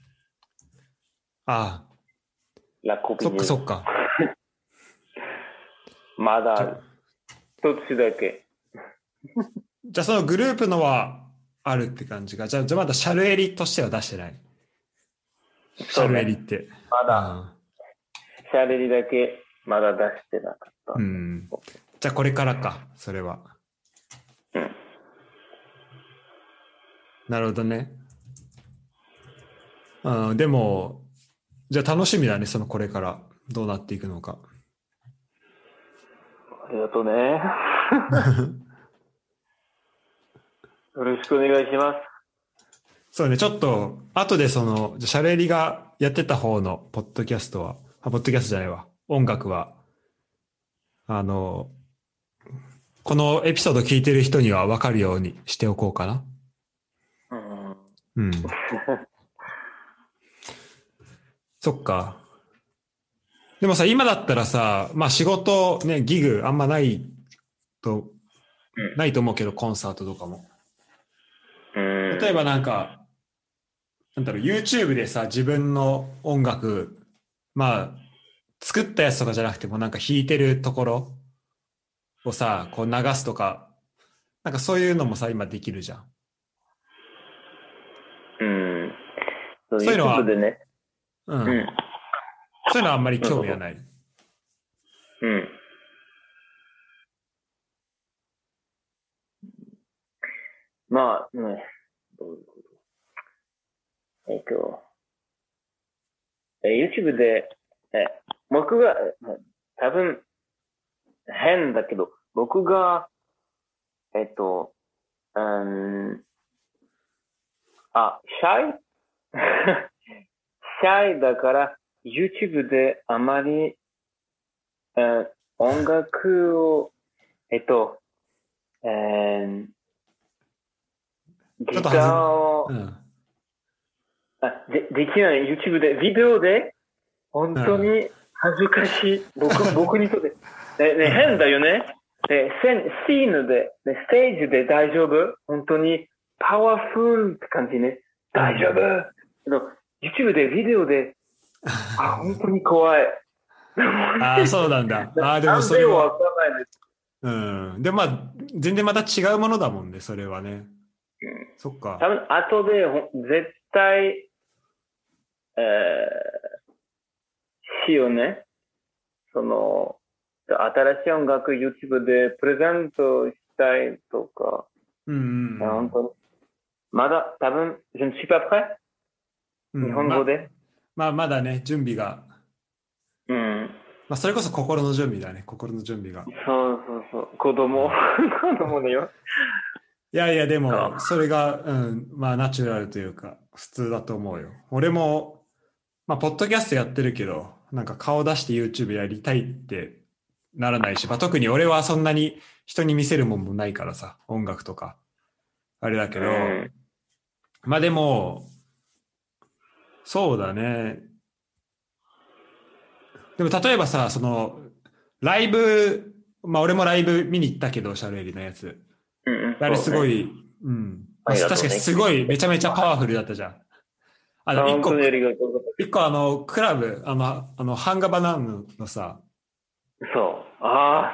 ああ。 ラコピそっかそっか。 まだ、一つだけ。 じゃあそのグループのはあるって感じか。じゃあ、じゃあまだシャルエリとしては出してない。シャルエリって。 まだ、シャルエリだけまだ出してなかった。 うん。じゃあこれからか、それは。 うん。 なるほどね。うん、でも、じゃあ楽しみだね、そのこれからどうなっていくのか。 ありがとうね。よろしくお願いします。 そうね、ちょっと、後でその、じゃシャルエリがやってた方のポッドキャストは、あ、ポッドキャストじゃないわ、音楽は、あの、このエピソード聞いてる人には分かるようにしておこうかな。うん。うん。そっか。でもさ、今だったらさ、まあ仕事、ね、ギグあんまないと、ないと思うけど、コンサートとかも。例えばなんか、なんだろう、YouTube でさ、自分の音楽、まあ、作ったやつとかじゃなくても、なんか弾いてるところをさ、こう流すとか、なんかそういうのもさ、今できるじゃん。 うん。 そういうのは、 でね。 うん。うん、そういうのはあんまり興味はない。 うん。まあ、ね、どういうこと。えっと、YouTube で、え、僕が、多分、変だけど、僕が、えっと、うん、あ、シャイシャイだから、YouTube であまり、えー、音楽を、えっと、えー、ギターを、うん、あで、できない。YouTube で、ビデオで、本当に恥ずかしい。僕、僕にとって。ね、ね、変だよね。ね、シーンで、ね、ステージで大丈夫？本当にパワフルって感じね。大丈夫？けど、YouTube で、ビデオで、あ、本当に怖い。 ああ、そうなんだ。ああ、でもそれは。うん。で、まあ、全然また違うものだもんね、それはね。うん、そっか。 多分、後で、絶対、えー、しようね。その、新しい音楽 YouTube でプレゼントしたいとか。 うんうんうん。 本当に。まだ、多分、je ne suis pas prêt、うん、日本語で。 ま、まあ、まだね、準備が。 うん。 まあ、それこそ心の準備だね、心の準備が。 そうそうそう。子供。子供だよ。 いやいや、でも、それが、うん、まあ、ナチュラルというか、普通だと思うよ。俺も、まあ、ポッドキャストやってるけど、なんか顔出して YouTube やりたいってならないし、まあ、特に俺はそんなに人に見せるもんもないからさ、音楽とか。あれだけど、うん、まあでも、そうだね。でも例えばさ、その、ライブ、まあ俺もライブ見に行ったけど、シャルエリのやつ。 うん、 あれすごい、 ね、 うん。まあ、 ありがとうね。 確かにすごいめちゃめちゃパワフルだったじゃん。あの、一個、一個あの、クラブ、あの、あの、ハンガバナーヌのさ、 そう。あ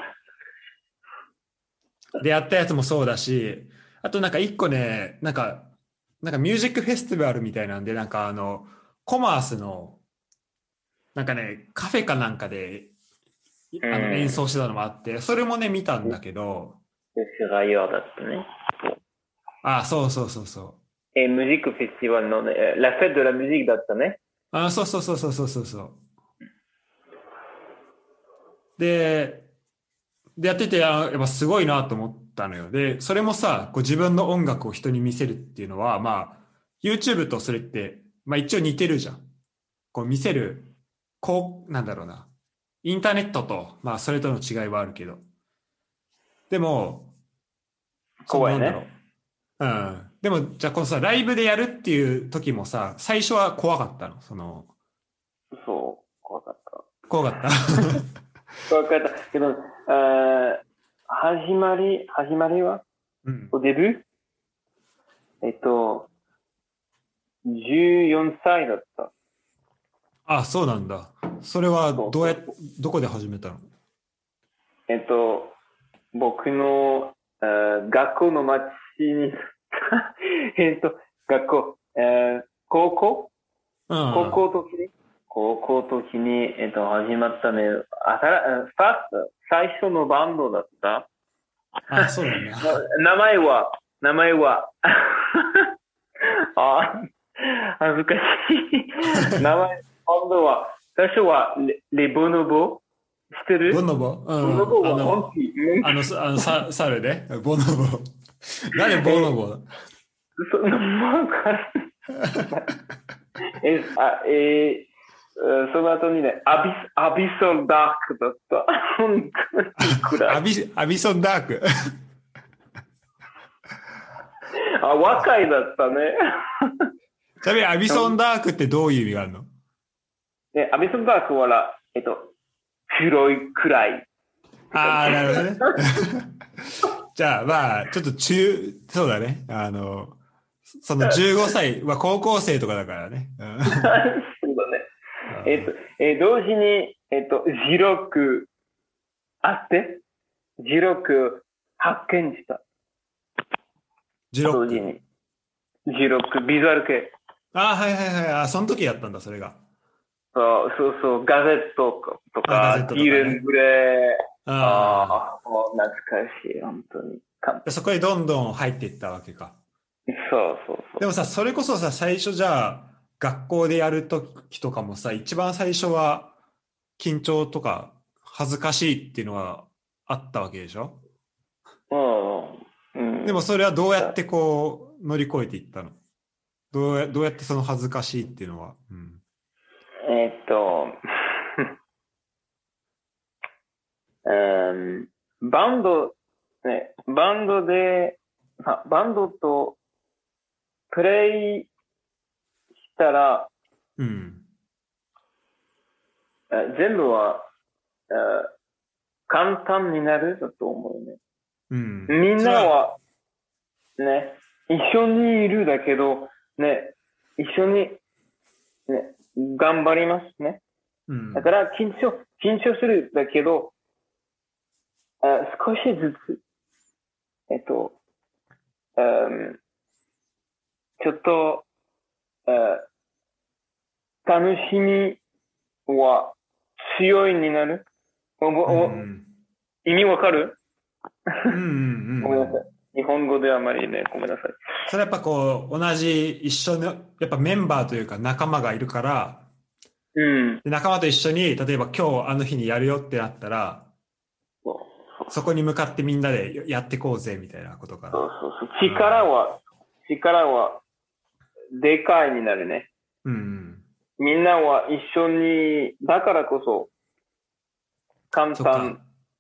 あ。でやったやつもそうだし、あとなんか一個ね、なんか、なんかミュージックフェスティバルみたいなんで、なんかあの、コマースの、なんかね、カフェかなんかで、あの演奏してたのもあって、それもね、見たんだけど。 フライヤーだったね。 ああ、そうそうそうそう。 え、ミュージックフェスティバルのね、ラフェット・ド・ラ・ミュージックだったね。 ああ、そうそうそうそうそうそうそう。で、でやってて、あやっぱすごいなと思ったのよ。で、それもさ、こう自分の音楽を人に見せるっていうのは、まあ、YouTube とそれって、まあ一応似てるじゃん。こう見せる、こう、なんだろうな。インターネットと、まあそれとの違いはあるけど。でも、その怖いね。 なんだろう。うん。でも、じゃあこのさ、ライブでやるっていう時もさ、最初は怖かったの。その、 そう、怖かった。 怖かった。 怖かった。けど、あ始まり、始まりは、 うん、 おデビューえっと、じゅうよんさいだった。 あ、そうなんだ。それはどうや、どこで始めたの？ えっと、僕の、学校の町にえっと、学校、えー、高校、うん、高校時に、高校時に、えっと、始まったね、あたら、ファースト、最初のバンドだった。 あ、そうなんだ。 名前は、名前は、あ、恥ずかしい。名前、バンドは、最初はレ、レボノボ知ってる？ ボノボ、うん、 ボノボはあの、 モンキー。 あの、あのサ猿ね。ボノボ。なんでボノボ？ そんなもんか。え、あ、えー、その後にね、アビス、アビソンダークだった。本当に暗い。 アビ、アビソンダーク。 あ、若いだったね。 ちなみにアビソンダークってどういう意味があるの？ ね、アビソンダークは、えっと、黒い、暗い。 ああ、なるほどね。じゃあ、まあ、ちょっと中、そうだね。あの、そのじゅうごさいは高校生とかだからね。 そうだね。えっと、えー、同時に、えっと、じろくあって、じろく発見した。 じろく。 同時に。じろく、ビジュアル系。 ああ、はいはいはい。あ、その時やったんだ、それが。 そうそうそう、ガゼットとか、ティーレングレー。ああ、もう懐かしい、本当に。 そこにどんどん入っていったわけか。 そうそうそう。 でもさ、それこそさ、最初じゃあ、学校でやるときとかもさ、一番最初は緊張とか恥ずかしいっていうのはあったわけでしょ？ うん。うん、 でもそれはどうやってこう乗り越えていったの？どうやどうやってその恥ずかしいっていうのは。うん、 えー、っと、うん、バンド、ね、バンドで、バンドとプレイしたら、 うん、 全部は簡単になるだと思うね。 うん、 みんなはね、一緒にいるだけど、ね、一緒に、ね、頑張りますね。 うん、 だから緊張、緊張するだけど、あ少しずつ、えっと、うん、ちょっと、楽しみは強いになる。おおうん、意味わかる？ うんうんうん、 ごめんなさい。日本語であまりね、ごめんなさい。 それやっぱこう、同じ一緒の、やっぱメンバーというか仲間がいるから、 うん、 仲間と一緒に、例えば今日あの日にやるよってなったら、そこに向かってみんなでやってこうぜみたいなことかな。 そうそうそう。力は、力はでかいになるね。 うん。 みんなは一緒に、だからこそ簡単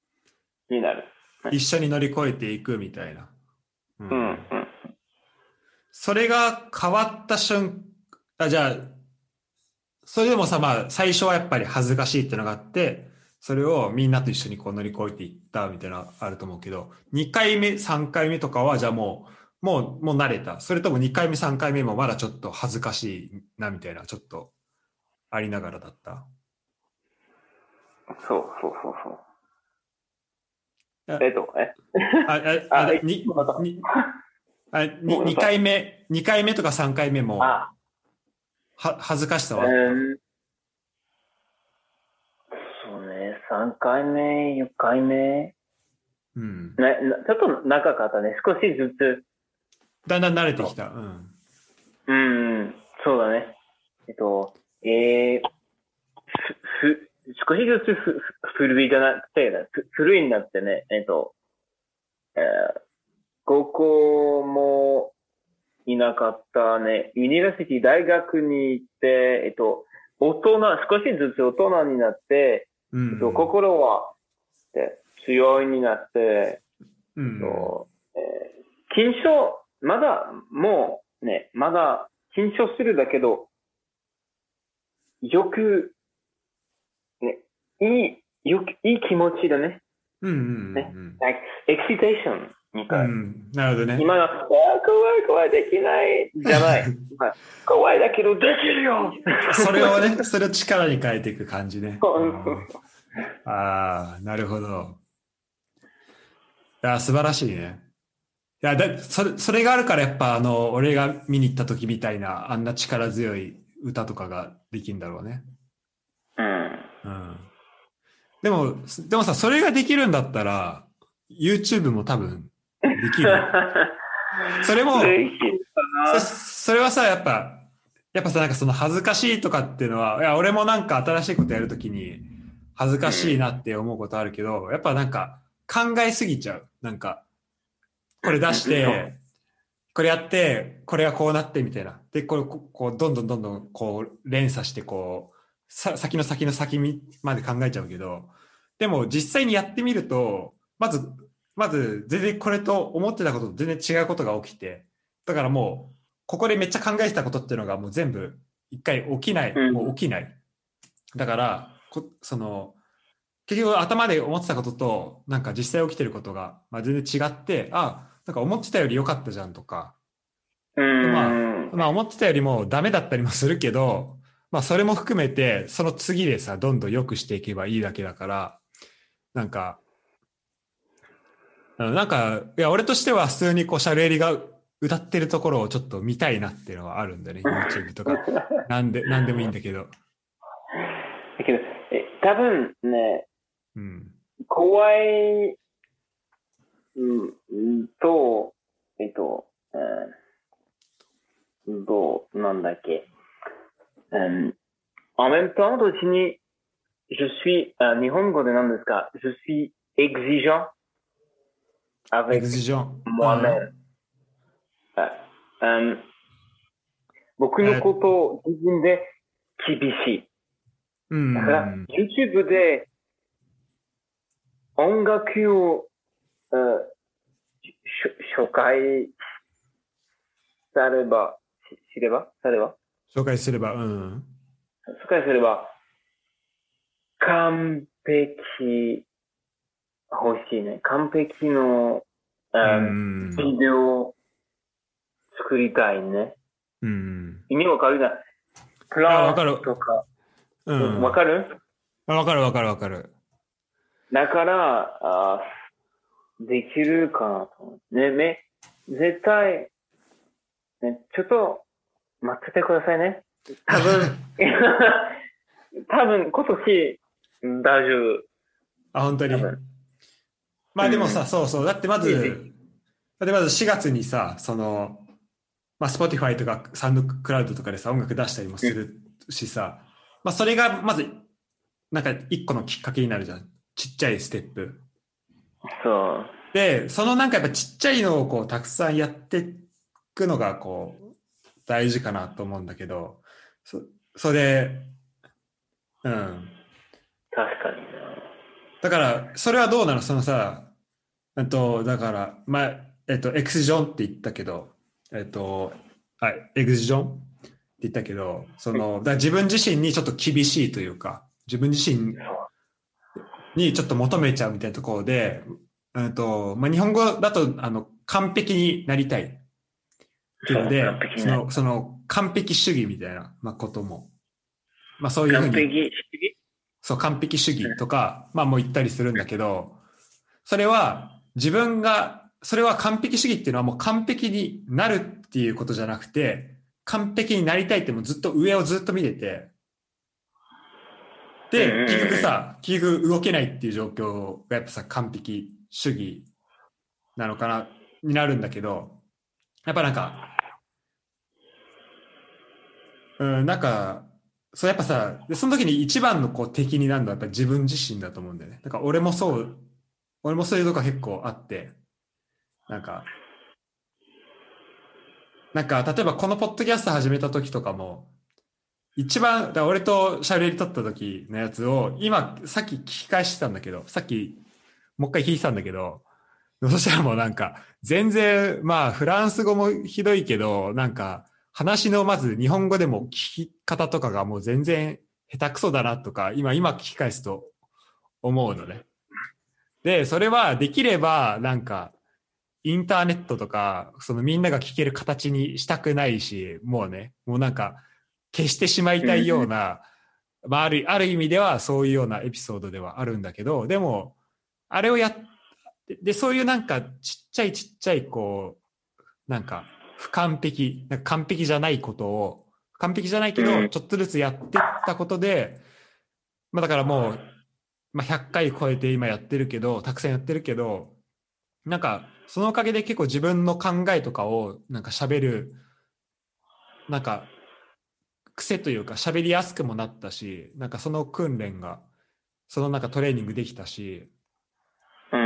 になる。 一緒に乗り越えていくみたいな。うん。 うん、うん。 それが変わった瞬間、あ、じゃあ、それでもさ、まあ、最初はやっぱり恥ずかしいってのがあって、それをみんなと一緒にこう乗り越えていったみたいなのあると思うけど、にかいめ、さんかいめとかは、じゃあもう、もう、もう慣れた。それともにかいめ、さんかいめもまだちょっと恥ずかしいなみたいな、ちょっとありながらだった。 そうそうそうそう。 あえっと、えあ、あ、あ、 あ、え、 に、 また。 に、あ、に、2 ごめんなさい。 回目、にかいめとかさんかいめも、 あ、 は、恥ずかしさうはあった。 ん、そうね、さんかいめ、よんかいめ。 うん。 ね、なちょっと長かったね。少しずつ。 だんだん慣れてきそた。うん。 う、うん、そうだね。えっと、えー、ふ、ふ、少しずつふ、ふ古いじゃなくて、ふ古いになってね、えっと、えー、高校もいなかったね。ユニバーシティ大学に行って、えっと、大人、少しずつ大人になって、 うえっと、 ん。 心は、で強いになって、 うえっん。 と、えー、緊張、まだ、もうね、まだ緊張するだけど、よく、ね、いい、よく、いい気持ちだね。 うん。うん。うね。 ん。 like, excitation にうかい。 ん。なるほどね。 今の、あ怖い怖いできないじゃない。怖いだけどできるよそれをね、それを力に変えていく感じね。うん、ああ、なるほど。いや、素晴らしいね。いや、だ、それ、それがあるからやっぱあの、俺が見に行った時みたいな、あんな力強い歌とかができるんだろうね。 うん。 うん。でも、でもさ、それができるんだったら、YouTube も多分できるよ。それも、 できるかそ、 な。 それはさ、やっぱ、やっぱさ、なんかその恥ずかしいとかっていうのは、いや、俺もなんか新しいことやるときに恥ずかしいなって思うことあるけど、やっぱなんか考えすぎちゃう。なんか、これ出しうん。そう。 て、これやって、これがこうなってみたいな。で、これ、ここう、どんどんどんどん、こう、連鎖して、こう、さ、先の先の先まで考えちゃうけど、でも実際にやってみると、まず、まず、全然これと思ってたことと全然違うことが起きて、だからもう、ここでめっちゃ考えてたことっていうのがもう全部、一回起きない、もううん。 起きない。だから、こその、結局頭で思ってたことと、なんか実際起きてることが、まあ、全然違って、あ、なんか思ってたより良かったじゃんとか、 うでまん。 あ、まあ思ってたよりもダメだったりもするけど、まあそれも含めて、その次でさ、どんどん良くしていけばいいだけだから、なんか、なんか、いや、俺としては普通にこう、シャルエリが歌ってるところをちょっと見たいなっていうのはあるんだよね、YouTube とか。なんで、なんでもいいんだけど。 だけど、え、多分ね、 うん。 怖い、うん、と、えっと、うん、どう、なんだっけ。うん、en même temps, 同時に、je suis, あ、日本語で何ですか je suis exigeant エグ avec ジジョン。うん。 moi-même. あ、うん、僕のこえ、 とを自分で厳しい。 うだから、 ん。 YouTube で音楽を、uh, 紹介されば、知ればされば紹介すれば、うん。 紹介すれば、完璧欲しいね。完璧の、 うあビん。 デオを作りたいね。 うん。 意味わかるな。プあ、 ランわかる。 とか、 ううんわん。 かるあ、わかるわかるわかる。 だから、あできるかなと思う。ね、め、絶対、ね、ちょっと待っててくださいね。多分、多分今年大丈夫。 あ、本当に。 多分。 まあでもさ、 うん。 そうそう。だってまいい時ず、だってまずしがつにさ、その、まあ、Spotify とかサウンドクラウドとかでさ、音楽出したりもうん。 するしさ、まあそれがまず、なんか一個のきっかけになるじゃん。ちっちゃいステップ。 そう。 で、そのなんかやっぱちっちゃいのをこうたくさんやっていくのがこう大事かなと思うんだけど、そ、それで、うん。 確かにな。 だから、それはどうなのそのさ、えっと、だから、まあ、えっと、エクスジョンって言ったけど、えっと、はい、エクスジョンって言ったけど、その、だから自分自身にちょっと厳しいというか、自分自身にちょっと求めちゃうみたいなところで、えっと、まあ、日本語だと、あの、完璧になりたいっていうので、 完璧な。 その、その、完璧主義みたいな、まあ、ことも、まあ、そういうふう完璧に、 主義。 そう、完璧主義とか、まあ、もう言ったりするんだけど、それは自分が、それは完璧主義っていうのはもう完璧になるっていうことじゃなくて、完璧になりたいってもうずっと上をずっと見てて、で、結局さ、結局動けないっていう状況がやっぱさ、完璧主義なのかな、になるんだけど、やっぱなんか、うん、なんか、そうやっぱさ、でその時に一番のこう敵になるのはやっぱ自分自身だと思うんだよね。だから俺もそう、俺もそういうとこ結構あって、なんか、なんか、例えばこのポッドキャスト始めた時とかも、一番、だから俺とシャベり取った時のやつを、今、さっき聞き返してたんだけど、さっき、もう一回聞いてたんだけど、そしたらもうなんか、全然、まあ、フランス語もひどいけど、なんか、話のまず日本語でも聞き方とかがもう全然下手くそだなとか、今、今聞き返すと思うのね。で、それはできれば、なんか、インターネットとか、そのみんなが聞ける形にしたくないし、もうね、もうなんか、消してしまいたいような、まあ、ある、ある意味ではそういうようなエピソードではあるんだけど、でも、あれをやっ、で、そういうなんか、ちっちゃいちっちゃい、こう、なんか、不完璧、なんか完璧じゃないことを、完璧じゃないけど、ちょっとずつやってったことで、まあだからもう、まあひゃっかい超えて今やってるけど、たくさんやってるけど、なんか、そのおかげで結構自分の考えとかをなんか喋る、なんか癖というか喋りやすくもなったし、なんかその訓練が、そのなんかトレーニングできたし、 うん、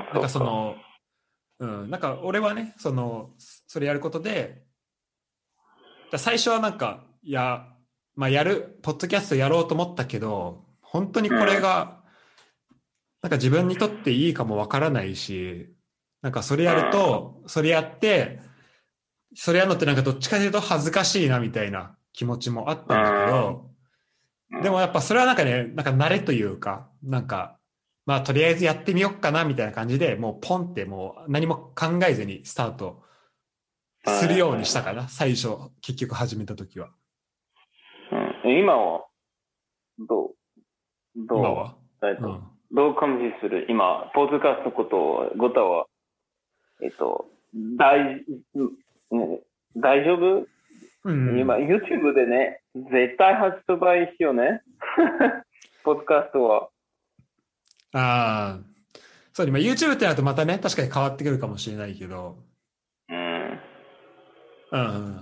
なんかその、うん、なんか俺はね、その、それやることで、最初はなんか、いや、まあやる、ポッドキャストやろうと思ったけど、本当にこれが、なんか自分にとっていいかもわからないし、なんかそれやると、それやって、それやるのってなんかどっちかというと恥ずかしいなみたいな気持ちもあったんだけど、でもやっぱそれはなんかね、なんか慣れというか、なんか、まあとりあえずやってみようかなみたいな感じで、もうポンってもう何も考えずにスタートするようにしたかな、最初、結局始めた時は。 うん、今は、どう、どう、 今は、 えっと、うん、どう感じする今、ポッドキャストことごたは、えっと、大、大丈夫、うん、今、YouTube でね、絶対発売しようね。ポッドキャストは。 ああ、そう、今 YouTube ってなるとまたね、確かに変わってくるかもしれないけど。 うん。 うん。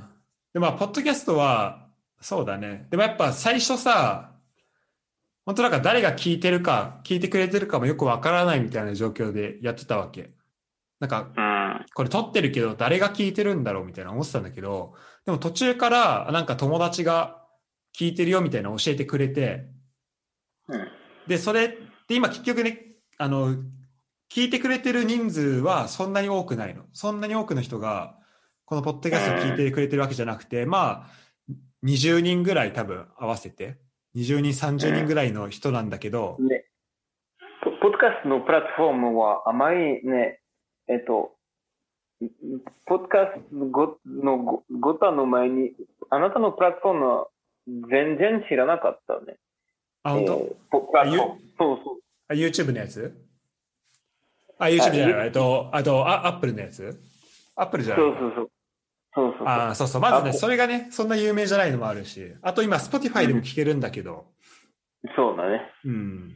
で、まあ、ポッドキャストは、そうだね。でもやっぱ最初さ、本当なんか誰が聞いてるか、聞いてくれてるかもよくわからないみたいな状況でやってたわけ。なんか、これ撮ってるけど誰が聞いてるんだろうみたいな思ってたんだけど、でも途中からなんか友達が聞いてるよみたいな教えてくれて、で、それって今結局ね、あの、聞いてくれてる人数はそんなに多くないの。そんなに多くの人が、このポッドキャストを聞いてくれてるわけじゃなくて、まあ、にじゅうにんぐらい多分合わせて、にじゅうにん、さんじゅうにんぐらいの人なんだけど、 ね、ポッドキャストのプラットフォームはあまりね、えっと、ポッドキャストのご、ごたの前に、あなたのプラットフォームは全然知らなかったね。 あ、本当？ えー、プラットフォーム。そうそう。 あ、YouTube のやつ？あ、YouTube じゃない。えっと、あと、あ、Apple のやつ？ Apple じゃない。 そうそうそう。そうそうそう。 あ、そうそう。まずね、それがね、そんな有名じゃないのもあるし、あと今、Spotify でも聞けるんだけど。 うん、そうだね。 うん。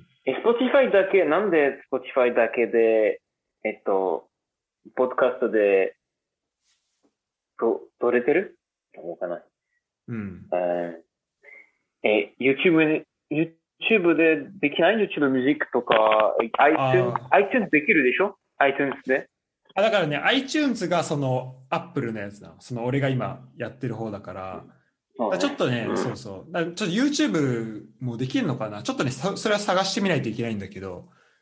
え、Spotify だけ、なんで Spotify だけで、えっと、ポッドキャストで、と、撮れてるどうかな。 うん。 え、YouTube に、YouTube でできない ?YouTube ミュージックとか、iTunes、iTunes できるでしょ ?iTunes で。 あ、だからね、iTunes がその Apple のやつなの。その俺が今やってる方だから。うん、だからちょっとね、うん、そうそう。だちょっと YouTube もできるのかなちょっとね、それは探してみないといけないんだけど、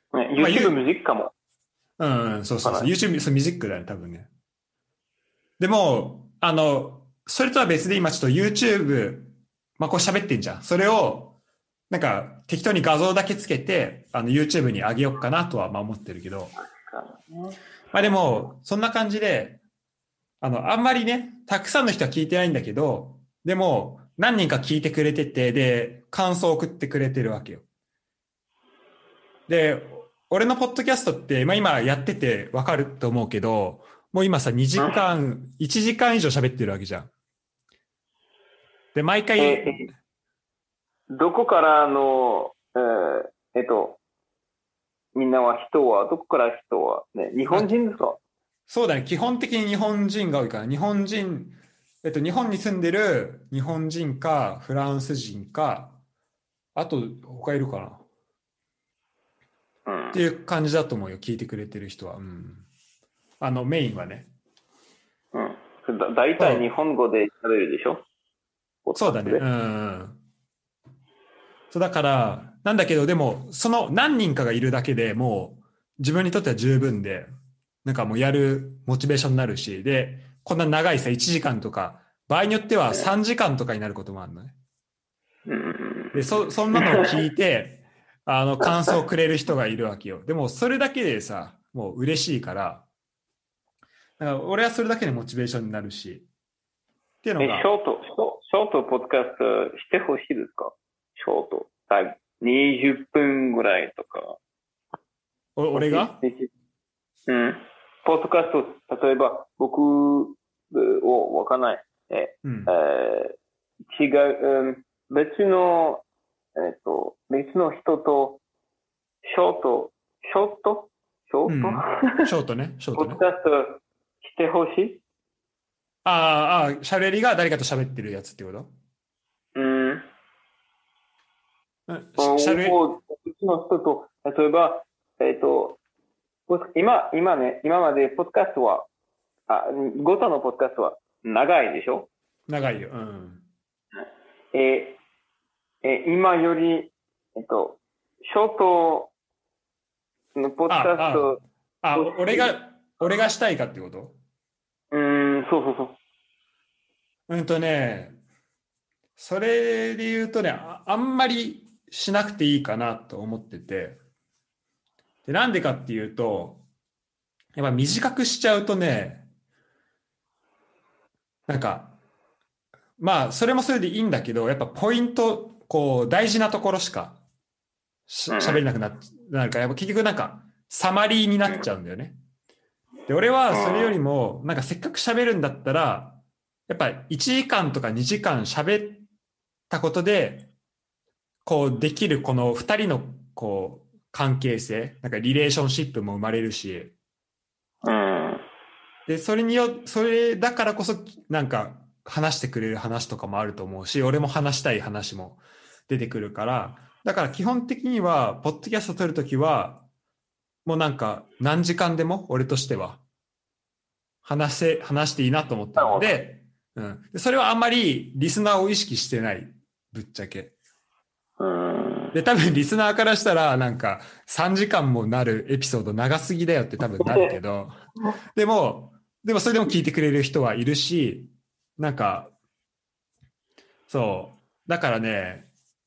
ね、 まあ YouTube ミュージックかも。 うん、うん、そうそうそう。 かな YouTube、そう、ミュージックだよね、多分ね。でも、あの、それとは別で今ちょっと YouTube、まあこう喋ってんじゃん。それを、なんか適当に画像だけつけて、あの YouTube に上げようかなとはまあ思ってるけど、まあでも、そんな感じで、あの、あんまりね、たくさんの人は聞いてないんだけど、でも、何人か聞いてくれてて、で、感想を送ってくれてるわけよ。で、俺のポッドキャストって、まあ今やっててわかると思うけど、もう今さ、にじかん、いちじかん以上喋ってるわけじゃん。で、毎回、 え、どこからの、えーえっと、みんなは人は、どこから人は、ね、日本人ですか？ そうだね、基本的に日本人が多いから、日本人、えっと、日本に住んでる日本人か、フランス人か、あと、他いるかなっうん。 ていう感じだと思うよ、聞いてくれてる人は。うん。あの、メインはね。 うん。だ、大体日そう、 本語で喋るでしょ？ポッドそうだね。 キャストで。 うん。そうだから、なんだけど、でも、その何人かがいるだけでもう、自分にとっては十分で、なんかもうやるモチベーションになるし、で、こんな長いさ、いちじかんとか、場合によってはさんじかんとかになることもあるのね。 うん。 で、そ、そんなのを聞いて、あの、感想をくれる人がいるわけよ。でも、それだけでさ、もう嬉しいから、だから俺はそれだけでモチベーションになるし、っていうのえ、シが、 ョート、ショショートポッドキャストしてほしいですか？ショート。だいにじゅっぷんぐらいとか。 お俺がうん。ポッドキャスト、例えば僕をわかんない。え、 うん。 えー違う、うん、別の、えっと、別の人と、ショート、ショートショートうん。ショートね、ショーポトね。 ッドキャストしてほしい。 ああ、ああ、喋りが誰かと喋ってるやつってことうん。 うんしゃべ、 を、別の人と、例えば、えっと、今、今ね、今までポッドキャストは、あ、ごとのポッドキャストは長いでしょ？ 長いよ。うん。 えーえー今より、えっと、ショートのポッドキャスあ、 トあ、あ、 として、 俺が、俺がしたいかってことうーん、そうそうそう。 うんとね、それで言うとね、あ、あんまりしなくていいかなと思ってて、で、なんでかっていうと、やっぱ短くしちゃうとね、なんか、まあ、それもそれでいいんだけど、やっぱポイント、こう、大事なところしかしうん、 喋れなくなっなるから、やっぱ結局なんか、サマリーになっちゃうんだよね。で、俺はそれよりも、なんかせっかく喋るんだったら、やっぱいちじかんとかにじかん喋ったことで、こうできるこのふたりのこう関係性、なんかリレーションシップも生まれるし、 うん、 で、それによ、それだからこそなんか話してくれる話とかもあると思うし、俺も話したい話も出てくるから、だから基本的には、ポッドキャスト撮るときは、もうなんか何時間でも俺としては話せ、話していいなと思ってるのなるほど。 で、うん。でそれはあんまりリスナーを意識してない。ぶっちゃけ。 うん、 で、多分リスナーからしたら、なんかさんじかんもなるエピソード長すぎだよって多分なるけど、でも、でもそれでも聞いてくれる人はいるし、なんか、そう。だからね、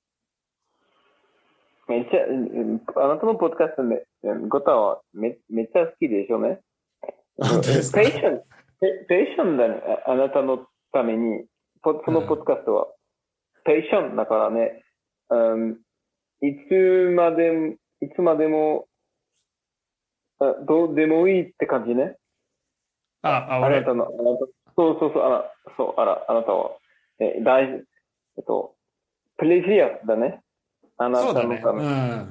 めっちゃ、うんあなたのポッドキャストめ、ゴタはめめっちゃ好きでしょうね。 本当ですか？ ペーション、ペペーションだね。ああなたのために、ポそのポッドうん。 キャストは、ペーションだからね、うん、いつまでも、いつまでも、あどうでもいいって感じね。 あ、あ、俺、 あなたの、あなた、そうそうそう、あら、そう、あら、あなたは、え、大事、えっと、プレジアだね。あなそうだね。 たのため。 うん。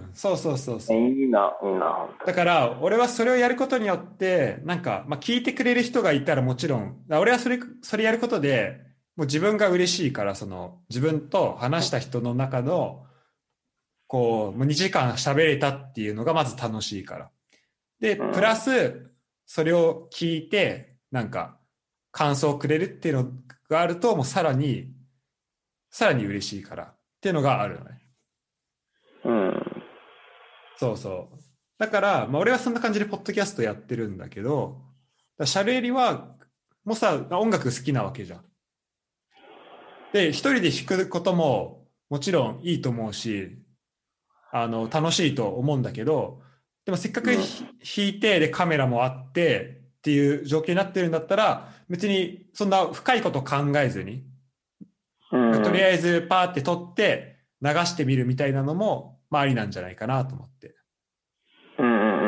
そうそうそうえそう。 いいな、いいな、本当に。 だから、俺はそれをやることによって、なんか、まあ、聞いてくれる人がいたらもちろん、俺はそれ、それやることで、もう自分が嬉しいから、その、自分と話した人の中の、こう、もうにじかん喋れたっていうのがまず楽しいから。で、プラうん。 ス、それを聞いて、なんか、感想をくれるっていうのがあると、もうさらに、さらに嬉しいからっていうのがあるのね。 うん。 そうそう。 だから、まあ、俺はそんな感じでポッドキャストやってるんだけど、だシャルエリは、もうさ、音楽好きなわけじゃん。で、一人で弾くことももちろんいいと思うし、あの、楽しいと思うんだけど、でもせっかく、うん、弾いて、で、カメラもあってっていう状況になってるんだったら、別にそんな深いこと考えずに、うん、とりあえずパーって撮って流してみるみたいなのも、まあありなんじゃないかなと思って。 うんうんうんうん。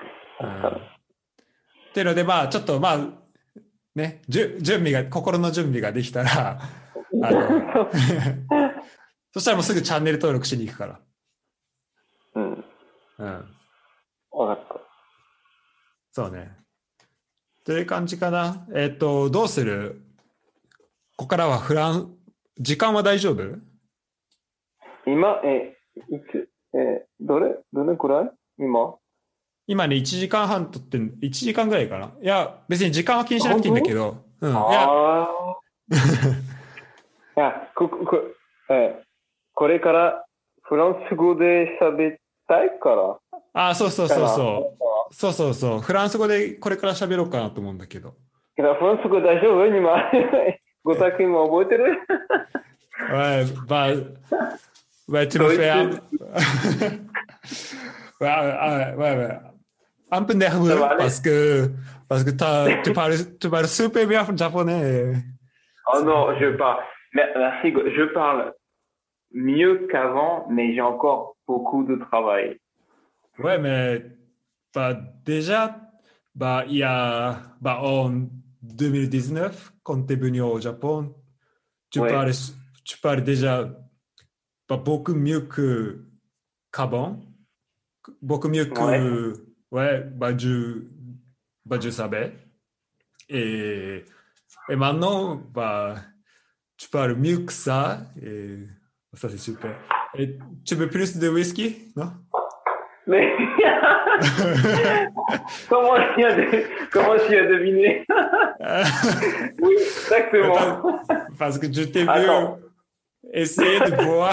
っていうので、まあちょっとまあ、ね、じゅ準備が、心の準備ができたら、あの、そしたらもうすぐチャンネル登録しに行くから。 うん。 うん。 わかった。 そうね。という感じかな。えっと、どうする？ここからはフラン、時間は大丈夫？ 今、え、いつ、え、どれどれくらい今今ね、いちじかんはんとって、いちじかんぐらいかな。いや、別に時間は気にしなくていいんだけど。うん。いや、 あいやここえ、これからフランス語で喋りたいから。 あ、そうそうそうそう。そうそうそう。フランス語でこれから喋ろうかなと思うんだけど。 フランス語大丈夫今。ごたくんも覚えてる Ouais, bah, bah, tu me fais un... ouais, ouais, ouais. Un peu nerveux parce que, parce que t'as, tu, parles, tu parles super bien japonais. Oh non, je parle. Merci, je parle mieux qu'avant, mais j'ai encore beaucoup de travail. Ouais, mais bah, déjà, bah, il y a bah, en deux mille dix-neuf, quand tu es venu au Japon, tu, Ouais. parles, tu parles déjà bah, beaucoup mieux que, qu'avant, beaucoup mieux que ouais, bah, je, bah, je savais. Et, et maintenant, bah, tu parles mieux que ça. Et ça, c'est super. Et tu veux plus de whisky, non? Mais comment tu as, de... comment tu as deviné? Oui, exactement. Parce, parce que je t'ai vu essayer de boire.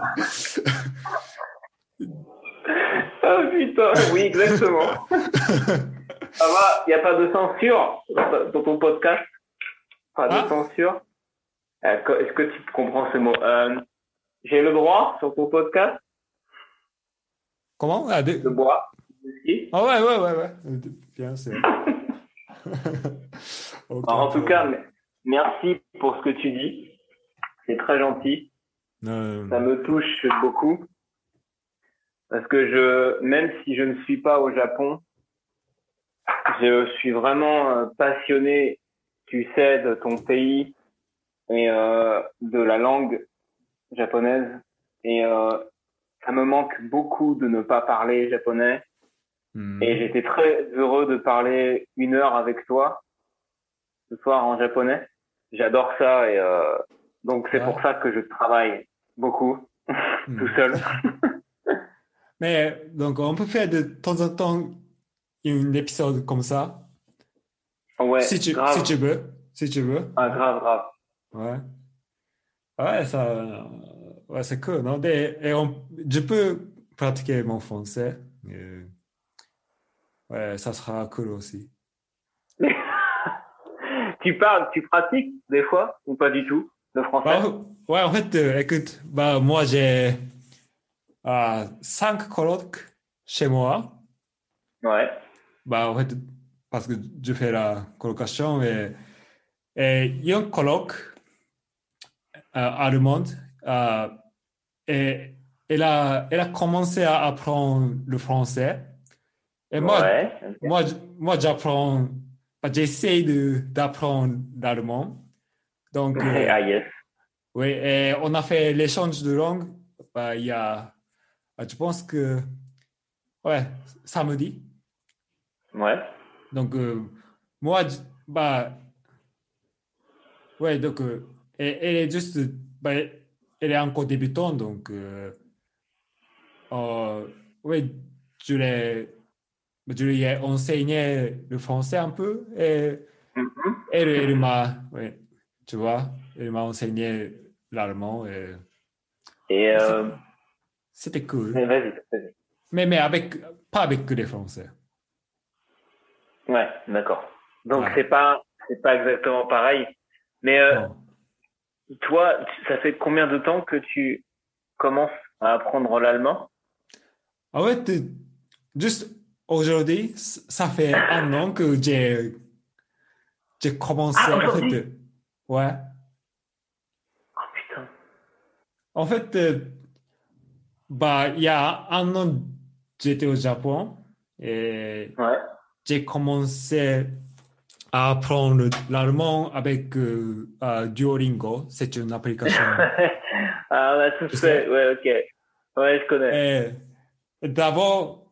Ah putain, oui, exactement. Ça va, il n'y a pas de censure dans ton podcast? Pas de ah? censure? Est-ce que tu comprends ce mot? euh, J'ai le droit sur ton podcast? Comment? Ah, de... de boire? Ah ouais, ouais, ouais, ouais. Bien sûr. Okay, en tout cas, merci pour ce que tu dis. C'est très gentil. Euh... Ça me touche beaucoup. Parce que je, même si je ne suis pas au Japon, je suis vraiment passionné, tu sais, de ton pays et euh, de la langue japonaise. Et euh, ça me manque beaucoup de ne pas parler japonais. Mmh. Et j'étais très heureux de parler une heure avec toi ce soir en japonais. J'adore ça et euh, donc c'est ouais. pour ça que je travaille beaucoup mmh. tout seul. Mais donc on peut faire de temps en temps un épisode comme ça. Ouais, si tu, grave. si tu veux, si tu veux. Ah, grave, grave. Ouais. Ouais, ça, ouais, c'est cool, non? Et, et on, je peux pratiquer mon français. Et, ouais, ça sera cool aussi. Tu parles, tu pratiques des fois ou pas du tout le français? Bah, ouais, en fait, euh, écoute, bah, moi j'ai euh, cinq colloques chez moi. Ouais. Bah, en fait, parce que je fais la colocation et, et il y a un colloque euh, allemande euh, et elle a, elle a commencé à apprendre le français. Et moi, ouais, okay. moi, moi j'apprends, bah, j'essaie de, d'apprendre l'allemand. Donc, euh, ah, yes. oui, et on a fait l'échange de langue bah, il y a, je pense que, ouais, samedi. Ouais. Donc, euh, moi, bah, ouais, donc, euh, elle, elle est juste, bah, elle est encore débutante, donc, euh, euh, ouais, je l'ai, je lui ai enseigné le français un peu et mm-hmm. elle, elle m'a, ouais, tu vois, elle m'a enseigné l'allemand et, et euh... c'était cool. Vas-y, vas-y. Mais, mais avec, pas avec les Français. Ouais, d'accord. Donc Ouais, c'est pas c'est pas exactement pareil. Mais euh, non. toi, tu- ça fait combien de temps que tu commences à apprendre l'allemand? En fait, euh, juste aujourd'hui, c- ça fait un an que j'ai j'ai Ah, commencé. En fait, aujourd'hui? euh, ouais. Oh putain. En fait, euh, bah, il y a un an, j'étais au Japon et Ouais. j'ai commencé à apprendre l'allemand avec euh, euh, Duolingo. C'est une application, Ah, on a tous tu fait. sais. Ouais, ok. Ouais, je connais. Et d'abord,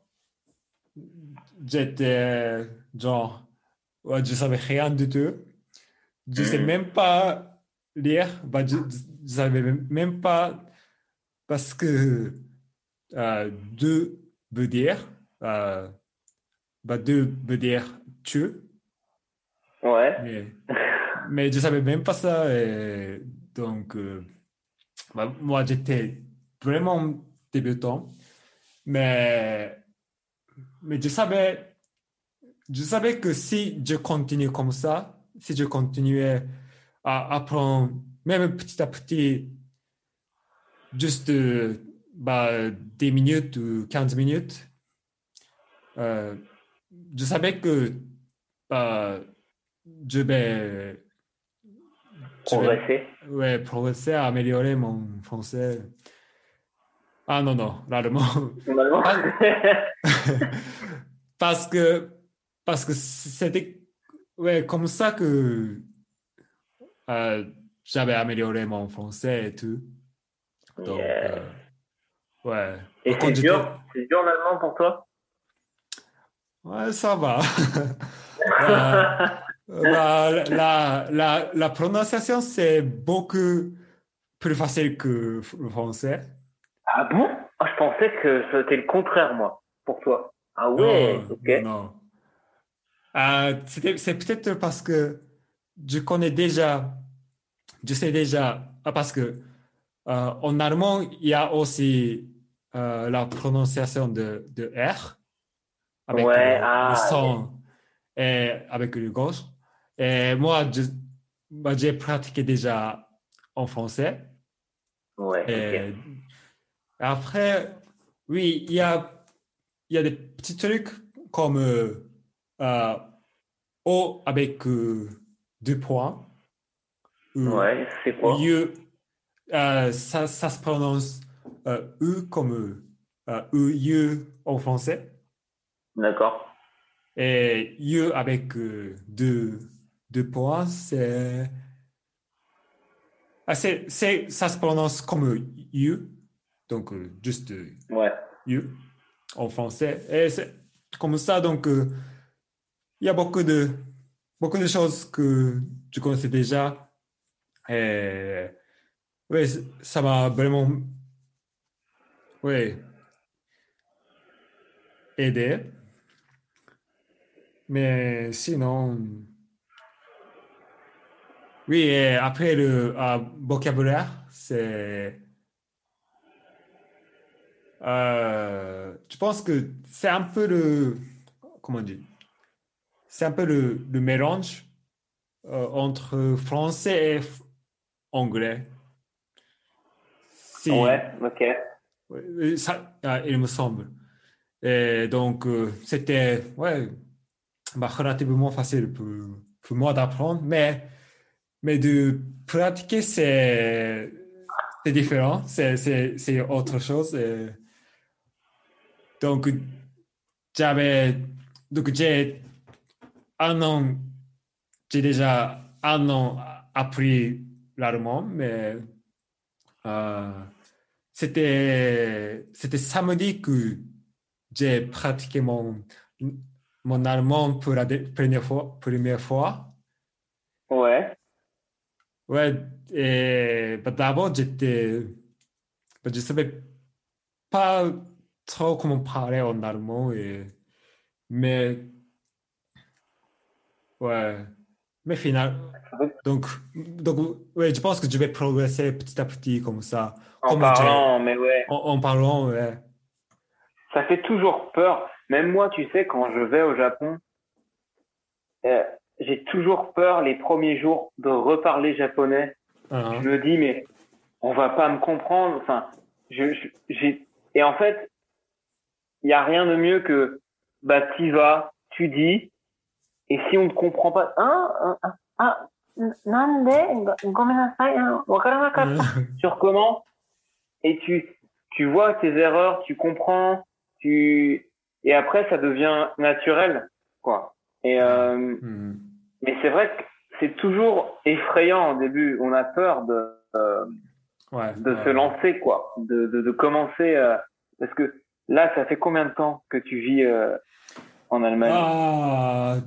j'étais genre, ouais, je savais rien du tout. Je sais Mhm. même pas lire. Bah, je, je savais même même pas parce que euh, deux veut dire, euh, bah, deux veut dire tu, Ouais. mais, mais je savais même pas ça. Et donc, euh, bah, moi, j'étais vraiment débutant, mais, mais je savais, je savais que si je continue comme ça, si je continuais à apprendre, même petit à petit, juste euh, bah, des minutes ou quinze minutes, euh, je savais que bah, je vais, je vais Progresser. ouais, progresser à améliorer mon français. Ah non, non, l'allemand. Normalement. Pas- Parce que, parce que c'était ouais, comme ça que euh, j'avais amélioré mon français et tout. Donc, Yeah. euh, ouais. Et Quand c'est j'étais. dur? C'est dur l'allemand pour toi? Ouais, ça va. Bah, bah, la, la, la prononciation, c'est beaucoup plus facile que le français. Ah bon? Ah, je pensais que c'était le contraire, moi, pour toi. Ah ouais, Non, ok. non, non. Euh, c'était- c'est peut-être parce que je connais déjà, je sais déjà, ah, parce que euh, en allemand, il y a aussi euh, la prononciation de, de R avec Ouais, le, le ah, yes. son et avec le gauche. Et moi, je- bah, j'ai pratiqué déjà en français. Ouais, ok. Et après, oui, il y a, il y a des petits trucs comme euh, euh, O avec euh, deux points, ou, Ouais, c'est ou quoi? U, euh, ça, ça se prononce euh, U comme euh, U, U en français. D'accord. Et U avec euh, deux, deux points, c'est, ah, c'est, c'est, ça se prononce comme U, donc euh, juste euh, Ouais. U en français. Et c'est comme ça, donc euh, il y a beaucoup de, beaucoup de choses que je connaissais déjà. Et oui, ça m'a vraiment oui, aidé. Mais sinon, oui, et après le euh, vocabulaire, c'est. Euh, je pense que c'est un peu le. Comment dire? C'est un peu le, le mélange euh, entre français et f- anglais. Si, Ouais, ok. oui, ça, ah, il me semble. Et donc, euh, c'était ouais, bah, relativement facile pour, pour moi d'apprendre, mais, mais de pratiquer, c'est c'est différent, c'est c'est- c'est autre chose. Et donc, j'avais, donc j'ai un an, j'ai déjà un an appris l'allemand, mais euh, c'était c'était samedi que j'ai pratiqué mon, mon allemand pour la dé- première fois, première fois. Ouais. Ouais, et bah, d'abord, j'étais, bah, je savais pas trop comment parler en allemand, et, mais ouais, mais final, donc, donc ouais, je pense que je vais progresser petit à petit comme ça, En comme j'ai, parlant, mais ouais. en, en parlant, ouais. ça fait toujours peur. Même moi, tu sais, quand je vais au Japon, euh, j'ai toujours peur les premiers jours de reparler japonais. Uh-huh. Je me dis, mais on va pas me comprendre. Enfin, je, je- j'ai, et en fait, il y a rien de mieux que, bah, t'y vas, tu dis, et si on ne comprend pas, ah, ah, ah, nande, gomenasai, wakaranakatta. Tu recommences et tu, tu vois tes erreurs, tu comprends, tu, et après, ça devient naturel, quoi. Et, euh, Mhm. mais c'est vrai que c'est toujours effrayant au début. On a peur de, euh, Ouais, de ouais, se ouais. lancer, quoi, de, de, de commencer, euh, parce que là, ça fait combien de temps que tu vis euh, en Allemagne? Ah,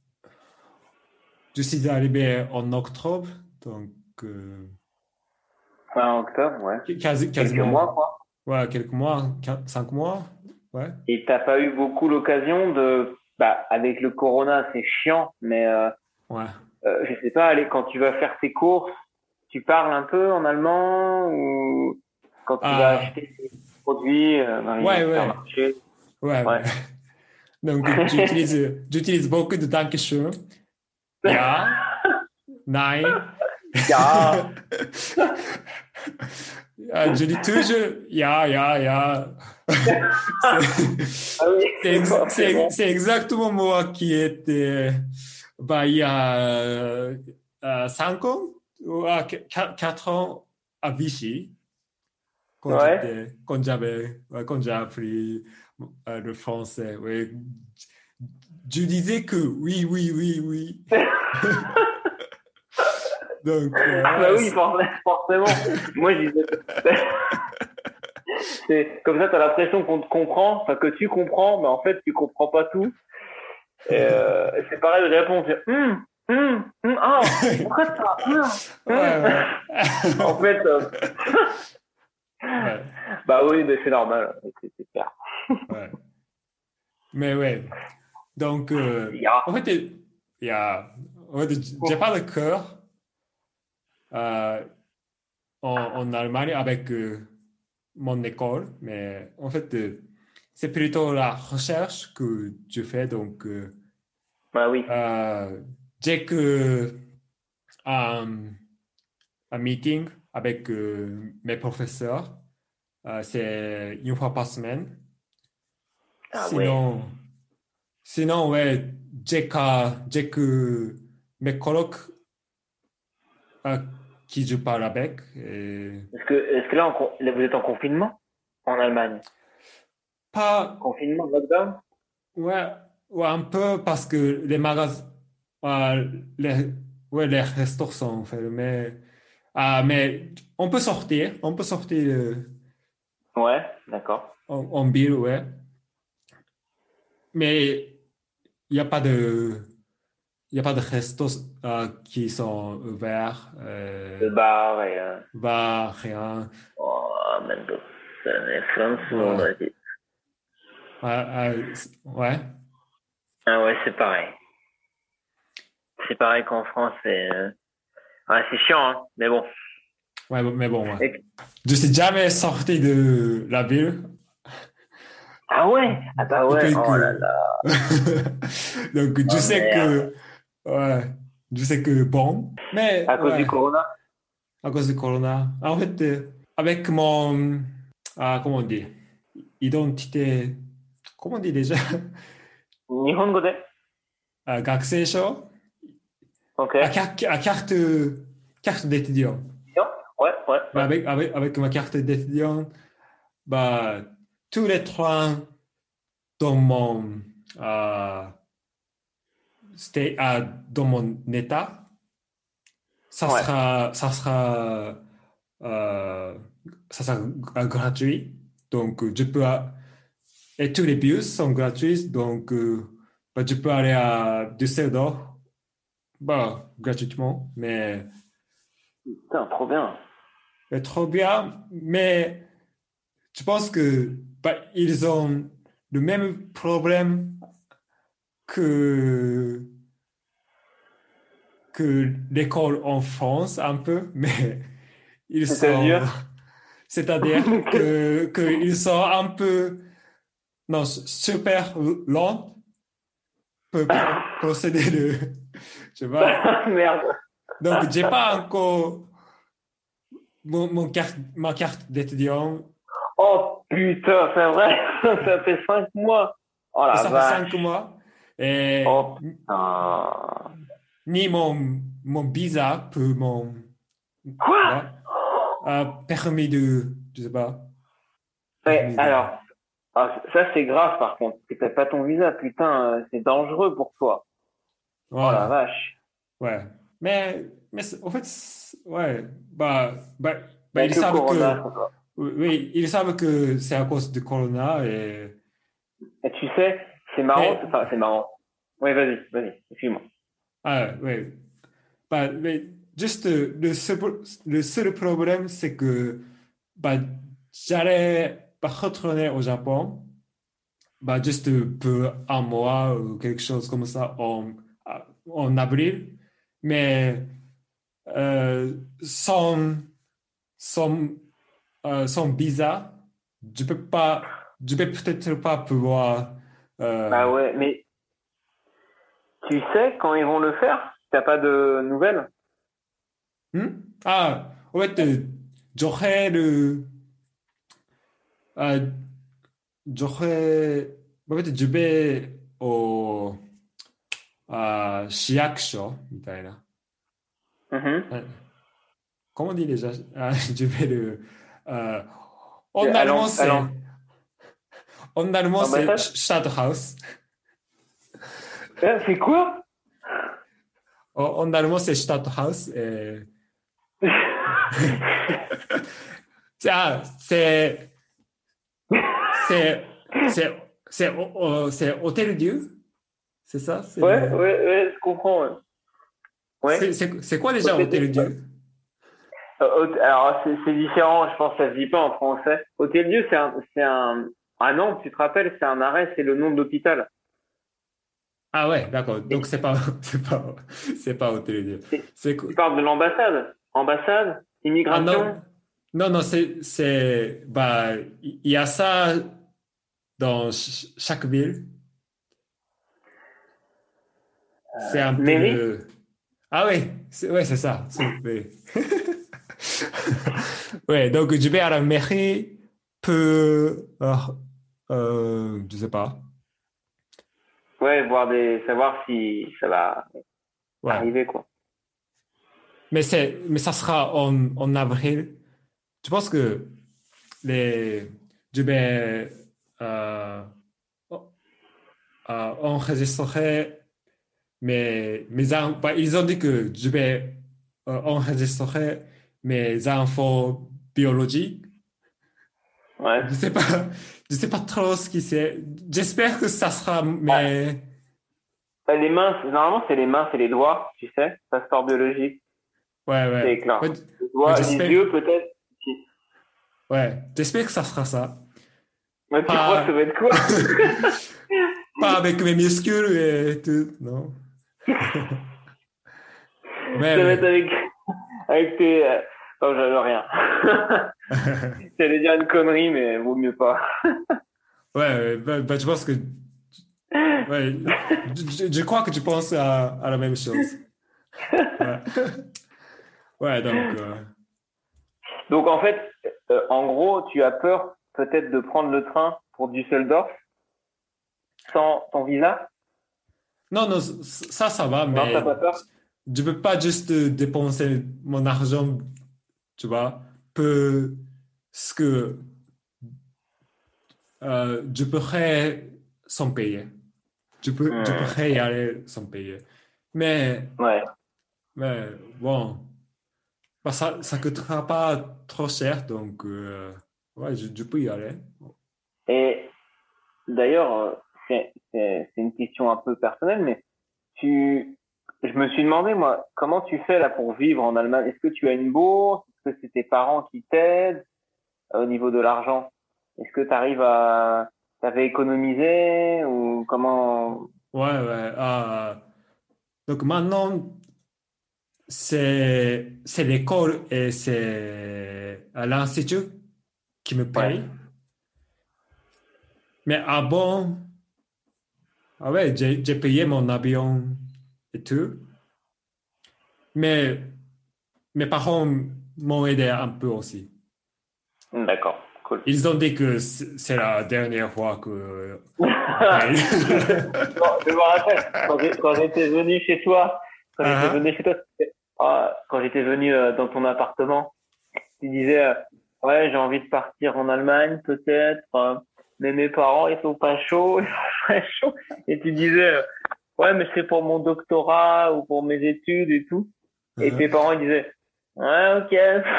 je suis arrivé en octobre, donc euh, Fin octobre, ouais. quasi- Quelques mois, quasiment quoi. ouais, quelques mois, quin- cinq mois. Ouais. Et t'as pas eu beaucoup l'occasion de, bah, avec le corona, c'est chiant, mais euh, Ouais. euh, je sais pas, allez, quand tu vas faire tes courses, tu parles un peu en allemand ou quand tu vas Ah, acheter tes produits euh, dans les ouais, ouais, supermarchés. ouais, ouais. Ouais. Donc, j'utilise, j'utilise beaucoup de Dankeschön. Ja, nein. Ja. Ah, je dis toujours, ja, ja, ja. C'est Ah oui, c'est ex- c'est- forcément. c'est exactement moi qui étais, bah, il y a euh, euh, cinq ans ou ah, qu- qua- quatre ans à Vichy, quand Ouais. j'étais, quand j'avais, ouais, quand j'ai appris euh, le français. Ouais. Je disais que oui, oui, oui, oui. Donc, euh, Bah ouais, oui, c'est- for- forcément. Moi, je disais, c'est comme ça, t'as l'impression qu'on te comprend, enfin que tu comprends, mais en fait, tu comprends pas tout. Et euh, c'est pareil, je réponds, c'est hum, hum, hum, ah, pourquoi ça, hum, ouais, hum. ouais. En fait, euh, Ouais, bah oui, mais c'est normal, c'est c'est clair. ouais. Mais ouais. Donc, euh, Ja. en fait, il y a, en fait, j'ai pas de cœur euh, en, en Allemagne avec euh, mon école, mais en fait, euh, c'est plutôt la recherche que je fais. Donc, euh, Bah oui. euh, j'ai que un, un meeting avec euh, mes professeurs. Euh, c'est une fois par semaine. Ah ouais. Sinon, sinon ouais, j'ai qu'à- j'ai que mes colocs euh, qui je parle avec. Et Est-ce que, est-ce que là, en con- là, vous êtes en confinement en Allemagne? pas, Confinement, lockdown? ouais, ouais, un peu parce que les magasins, euh, les, ouais, les restaurants sont fermés. Ah, mais on peut sortir, on peut sortir euh, Ouais, d'accord. en, en ville, ouais. Mais il n'y a pas de, il y a pas de restos euh, qui sont ouverts, euh, Le bar et, euh, bars, rien. oh, Mendoza, mais France, tout le monde Ouais, a dit. ouais, euh, c- ouais, Ah ouais, c'est pareil. C'est pareil qu'en France, c'est, euh, ouais, c'est chiant, hein, mais bon. ouais, mais bon, ouais. Et- Je suis jamais sorti de la ville ah ouais, ah bah ouais, depuis oh là que. là, Donc, je oh sais merde. que, ouais, je sais que bon, mais À cause du ouais, corona? à cause du corona. En fait, euh, avec mon, ah, comment on dit, identité, comment on dit déjà, 日本語で ah, 学生証 Ok. ah, carte, ah, carte, carte d'étudiant. Ouais, ouais, Bah, ouais. avec, avec, avec ma carte d'étudiant, bah, tous les trains dans mon, euh, sta- ah, dans mon état, ça Ouais. sera, ça sera, euh, ça sera gra- gratuit. Donc, je peux, a- et tous les bus sont gratuits. Donc, euh, bah, je peux aller à Düsseldorf, bah, gratuitement, mais, Putain, trop bien. mais trop bien. Mais je pense que, bah, ils ont le même problème que, que l'école en France, un peu, mais ils sont, C'est-à-dire? c'est-à-dire que, qu'ils sont un peu non, super lent pour pro- procéder le, je sais pas. Merde. Donc, j'ai pas encore mon, mon carte, ma carte d'étudiant. Oh putain, c'est vrai, ça fait cinq mois. Oh Et la ça fait cinq vache. mois. Et Oh putain. ni mon, mon visa pour mon, tu Quoi? vois, euh, permis de, je sais pas, Ouais, permis de, alors, ah, ça c'est grave par contre. C'est que t'as pas ton visa, putain, euh, c'est dangereux pour toi. Oh ouais, la vache. ouais. Mais, mais c'est- en fait, c'est- ouais, bah, bah, bah, ils Avec le savent corona, que, ça va. oui, oui, ils savent que c'est à cause du corona et, Et tu sais, c'est marrant, c'est- mais, enfin c'est marrant. Oui, vas-y, vas-y, excuse-moi. ah, ouais, bah, mais juste euh, le seul, le seul problème, c'est que, bah, j'allais pas retourner au Japon, bah, juste pour un mois ou quelque chose comme ça en, en avril, mais euh, sans, sans, euh, sans visa, je peux pas, je vais peut-être pas pouvoir. Bah Euh, ouais, mais tu sais quand ils vont le faire? T'as pas de nouvelles? hmm? Ah, en fait, euh, j'aurais le, euh, j'aurais, en fait, je vais au, à市役所 みたいな。 Mhm. Euh, Comment on dit déjà? Ah, je vais le, euh, en À allemand, l'am- à l'am- c'est, en allemand, c'est l'ambassade? Stadthaus. Euh, C'est quoi? En, en allemand, c'est Stadthaus. Et... Ah, c'est, c'est, c'est, c'est, oh, oh, c'est Hôtel Dieu? C'est ça? C'est Ouais, le... ouais, ouais, je comprends. Ouais. C'est, Ouais. c'est, c'est quoi déjà Hôtel Dieu. Hôtel Dieu? Euh, hôte- Alors c'est c'est différent, je pense que ça se dit pas en français. Hôtel Dieu, c'est un, c'est un. Ah non, tu te rappelles, c'est un arrêt, c'est le nom de l'hôpital. Ah ouais, d'accord. Donc Et c'est pas, c'est pas, c'est pas Hôtel Dieu. et C'est quoi? tu parles de l'ambassade. Ambassade, Ah immigration. non, non, non, c'est, c'est, bah, il y a ça dans ch- chaque ville. C'est un peu Mairie. le... Ah oui, c'est ouais, c'est ça. c'est- oui. Ouais, donc je vais à la mairie pour... euh, euh, je sais pas. Ouais, voir des, savoir si ça va Ouais. arriver quoi. Mais, c'est, mais ça sera en, en avril. Je pense que les... Je vais euh, euh, enregistrer mes, mes in- bah, ils ont dit que je vais euh, enregistrer mes infos biologiques. Ouais. Je sais pas, je sais pas trop ce qui c'est. J'espère que ça sera, Ah, mais bah, les mains, c'est- normalement c'est les mains, c'est les doigts, tu sais, passeport biologique, ouais, ouais, c'est clair. ouais, Les ouais, doigts, les j'espère, yeux peut-être. Si. ouais, j'espère que ça sera ça. Ouais, tu crois que ça Pas, va être quoi? pas avec mes muscles et tout, non. Mais Ça va être oui. avec, avec tes. euh, Oh, j'avais rien. J'allais dire une connerie, mais vaut mieux pas. Ouais, ouais, bah, bah, je pense que, ouais, je, je- je crois que tu penses à, à la même chose. Ouais, ouais, donc, euh, Donc en fait, euh, en gros, tu as peur peut-être de prendre le train pour Düsseldorf sans ton visa? non, non, ça, ça va, Non, t'as mais pas peur? je peux pas juste dépenser mon argent, tu vois, pour ce que euh, je pourrais sans payer. Je peux, je Hmm, pourrais y aller sans payer. Mais, ouais. mais bon, bah, ça ne coûtera pas trop cher, donc euh, ouais, je, je peux y aller. Et d'ailleurs, euh, c'est c'est- c'est une question un peu personnelle, mais tu, je me suis demandé, moi, comment tu fais là pour vivre en Allemagne? Est-ce que tu as une bourse? Est-ce que c'est tes parents qui t'aident euh, au niveau de l'argent? Est-ce que tu arrives à, t'avais économisé ou comment? Ouais, ouais. Ah, donc maintenant, c'est, c'est l'école et c'est à l'institut qui me Ouais. paye. Mais avant, ah ouais, j'ai, j'ai payé mon avion et tout. Mais mes parents m'ont aidé un peu aussi. D'accord, cool. Ils ont dit que c'est c'est la dernière fois que Bon, on paye. je me rappelle, quand j'ai- quand j'étais venu chez toi, quand j'étais Ah, venu chez toi, c'était- ah, quand j'étais venu euh, dans ton appartement, tu disais, euh, ouais, j'ai envie de partir en Allemagne, peut-être, euh, mais mes parents, ils sont pas chauds, ils sont pas chauds. Et tu disais, euh, ouais, mais c'est pour mon doctorat ou pour mes études et tout. Et ah. tes parents, ils disaient, ouais, ok.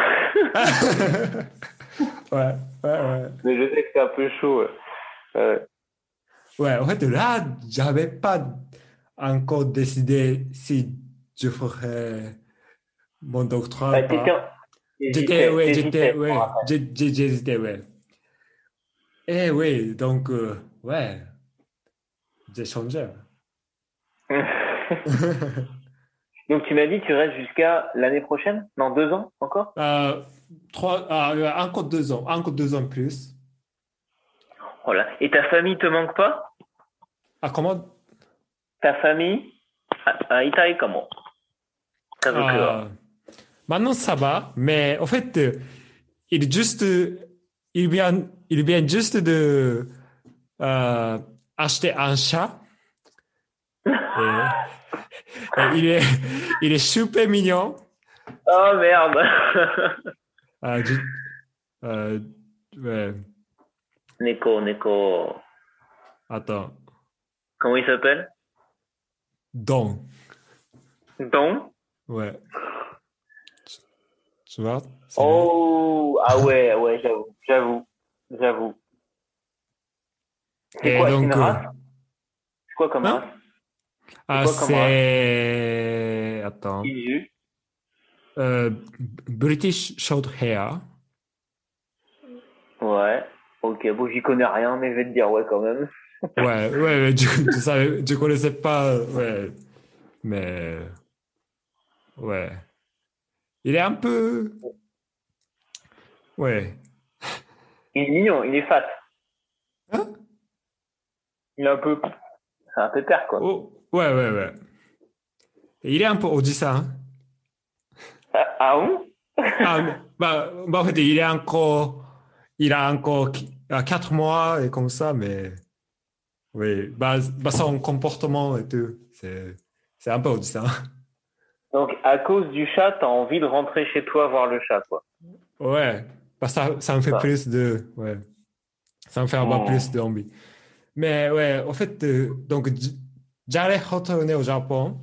Ouais, ouais, ouais. Mais je sais que c'est un peu chaud. Ouais. Euh, Ouais, en fait, là, j'avais pas encore décidé si je ferais mon doctorat ou bah, t'étais, pas. J'étais, t'hésitais, ouais, j'étais, t'hésitais, je me ouais, rappelle. j'ai- j'ai- j'hésitais, ouais. Et oui, donc, euh, ouais, j'ai changé. Donc tu m'as dit, tu restes jusqu'à l'année prochaine? Dans deux ans encore? Euh, trois, ah, ouais, encore deux ans, encore deux ans plus. Voilà. Et ta famille te manque pas? Ah, comment? Ta famille? Ah, ah, Itaï, comment? Kazuku. Ah, maintenant, ça va, mais en fait, euh, il juste, euh, il vient, il vient juste de euh, acheter un chat et, et il est, il est super mignon. Oh merde. Euh, je- euh, ouais, Neko, Neko. attends, Comment il s'appelle? Don, Don? ouais, tu, tu vois, c'est lui. Oh, ah ouais, ouais, j'avoue, j'avoue, j'avoue. C'est Et quoi? C'est une donc, euh, race? C'est quoi comme race? hein? C'est Ah, quoi comme race? c'est, attends, Isu. euh, British Shorthair. Ouais. Ok, bon, j'y connais rien, mais je vais te dire ouais quand même. Ouais, ouais, ouais, je, je savais, je connaissais pas, ouais, mais, ouais. Il est un peu, ouais. Il est mignon, il est fat. Hein? Il est un peu, c'est un pépère quoi. Oh, ouais, ouais, ouais. Il est un peu Oji-san. Hein. Ah, ah bon? Ah, mais- bah, bah, en fait, il est encore, il a encore qui- ah, quatre mois et comme ça, mais, oui, bah, bah, son comportement et tout, c'est, c'est un peu Oji-san. Donc à cause du chat, t'as envie de rentrer chez toi voir le chat quoi. Ouais, bah, ça, ça me fait Ça. plus de, ouais, ça me fait avoir plus Hmm. d'envie. Mais ouais, en fait, euh, donc, j- j'allais retourner au Japon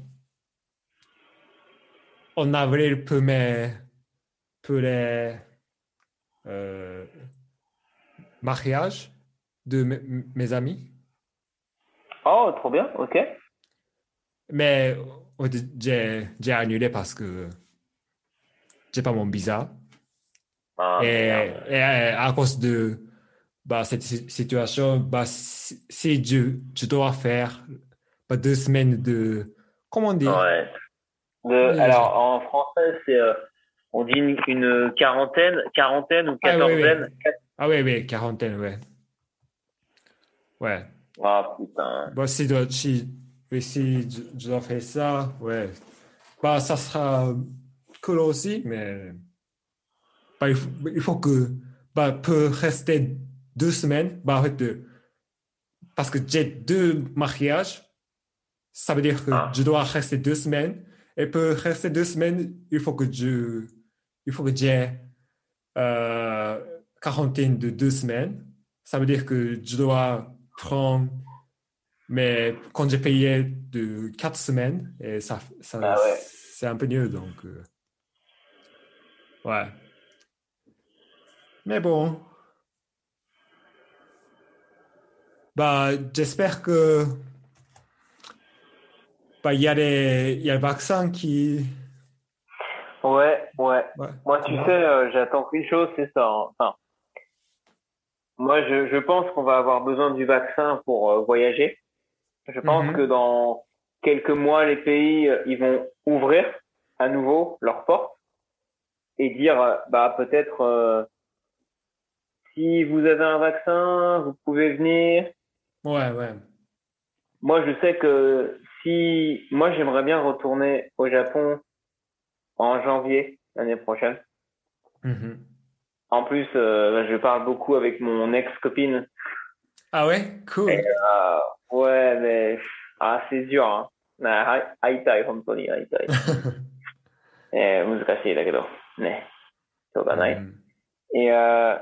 en avril pour mes, pour les euh, mariages de mes, mes amis. Oh, trop bien, ok. Mais en fait, j'ai, j'ai annulé parce que j'ai pas mon visa. Ah Et, merde. et à cause de bah, cette si- situation, bah, si, si je, je dois faire bah, deux semaines de, comment dire? Ouais. De, alors en français c'est, euh, on dit une, une quarantaine, quarantaine ou Ah oui, oui. quatorzaine. Ah oui, oui, quarantaine, ouais. Ouais. Ah putain. Bah, si, dois- si, oui, si je, je dois faire ça, ouais. Bah, ça sera cool aussi, mais bah, il faut, il faut que, bah, peut rester deux semaines, bah, en fait, euh, parce que j'ai deux mariages, ça veut dire que je Ah, dois rester deux semaines, et pour rester deux semaines, il faut que je, il faut que j'ai euh, quarantaine de deux semaines. Ça veut dire que je dois prendre mais quand j'ai payé de quatre semaines, et ça, ça, ah ouais. c'est un peu mieux, donc, euh, ouais. Mais bon, bah, j'espère que, bah, il y a les, il y a le vaccin qui, Ouais, ouais. ouais, Moi, tu tu sais, vois? euh, j'attends qu'une chose, c'est ça. Hein. Enfin, moi, je, je pense qu'on va avoir besoin du vaccin pour euh, voyager. Je pense que Mhm. dans quelques mois, les pays, euh, ils vont ouvrir à nouveau leurs portes et dire, euh, bah, peut-être, euh, si vous avez un vaccin, vous pouvez venir. Ouais, ouais. Moi, je sais que si, moi, j'aimerais bien retourner au Japon en janvier l'année prochaine. Mhm. En plus, euh, je parle beaucoup avec mon ex-copine. Ah ouais, cool. Et, euh, ouais, mais ah, c'est dur, hein. あ会いたい、本当に会いたい。えー、難しいだけど、ね、しょうがない。 Mhm. Et euh,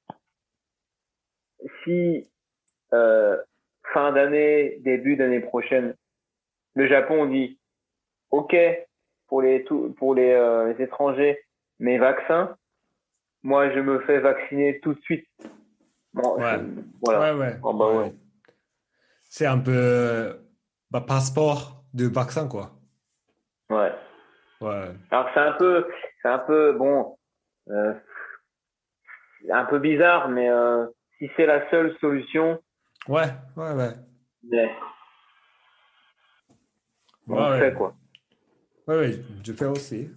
si euh, fin d'année, début d'année prochaine, le Japon dit OK pour les tout, pour les, euh, les étrangers, mais vaccins, moi je me fais vacciner tout de suite. Bon, je, Ouais, voilà. ouais, ouais, Bon, bah ouais. ouais. C'est un peu bah, passeport de vaccin, quoi. Ouais. Ouais, Alors c'est un peu, c'est un peu bon, euh, un peu bizarre, mais euh, si c'est la seule solution, ouais, ouais, ouais. mais Ouais, on le ouais, fait quoi. ouais, ouais, je fais aussi.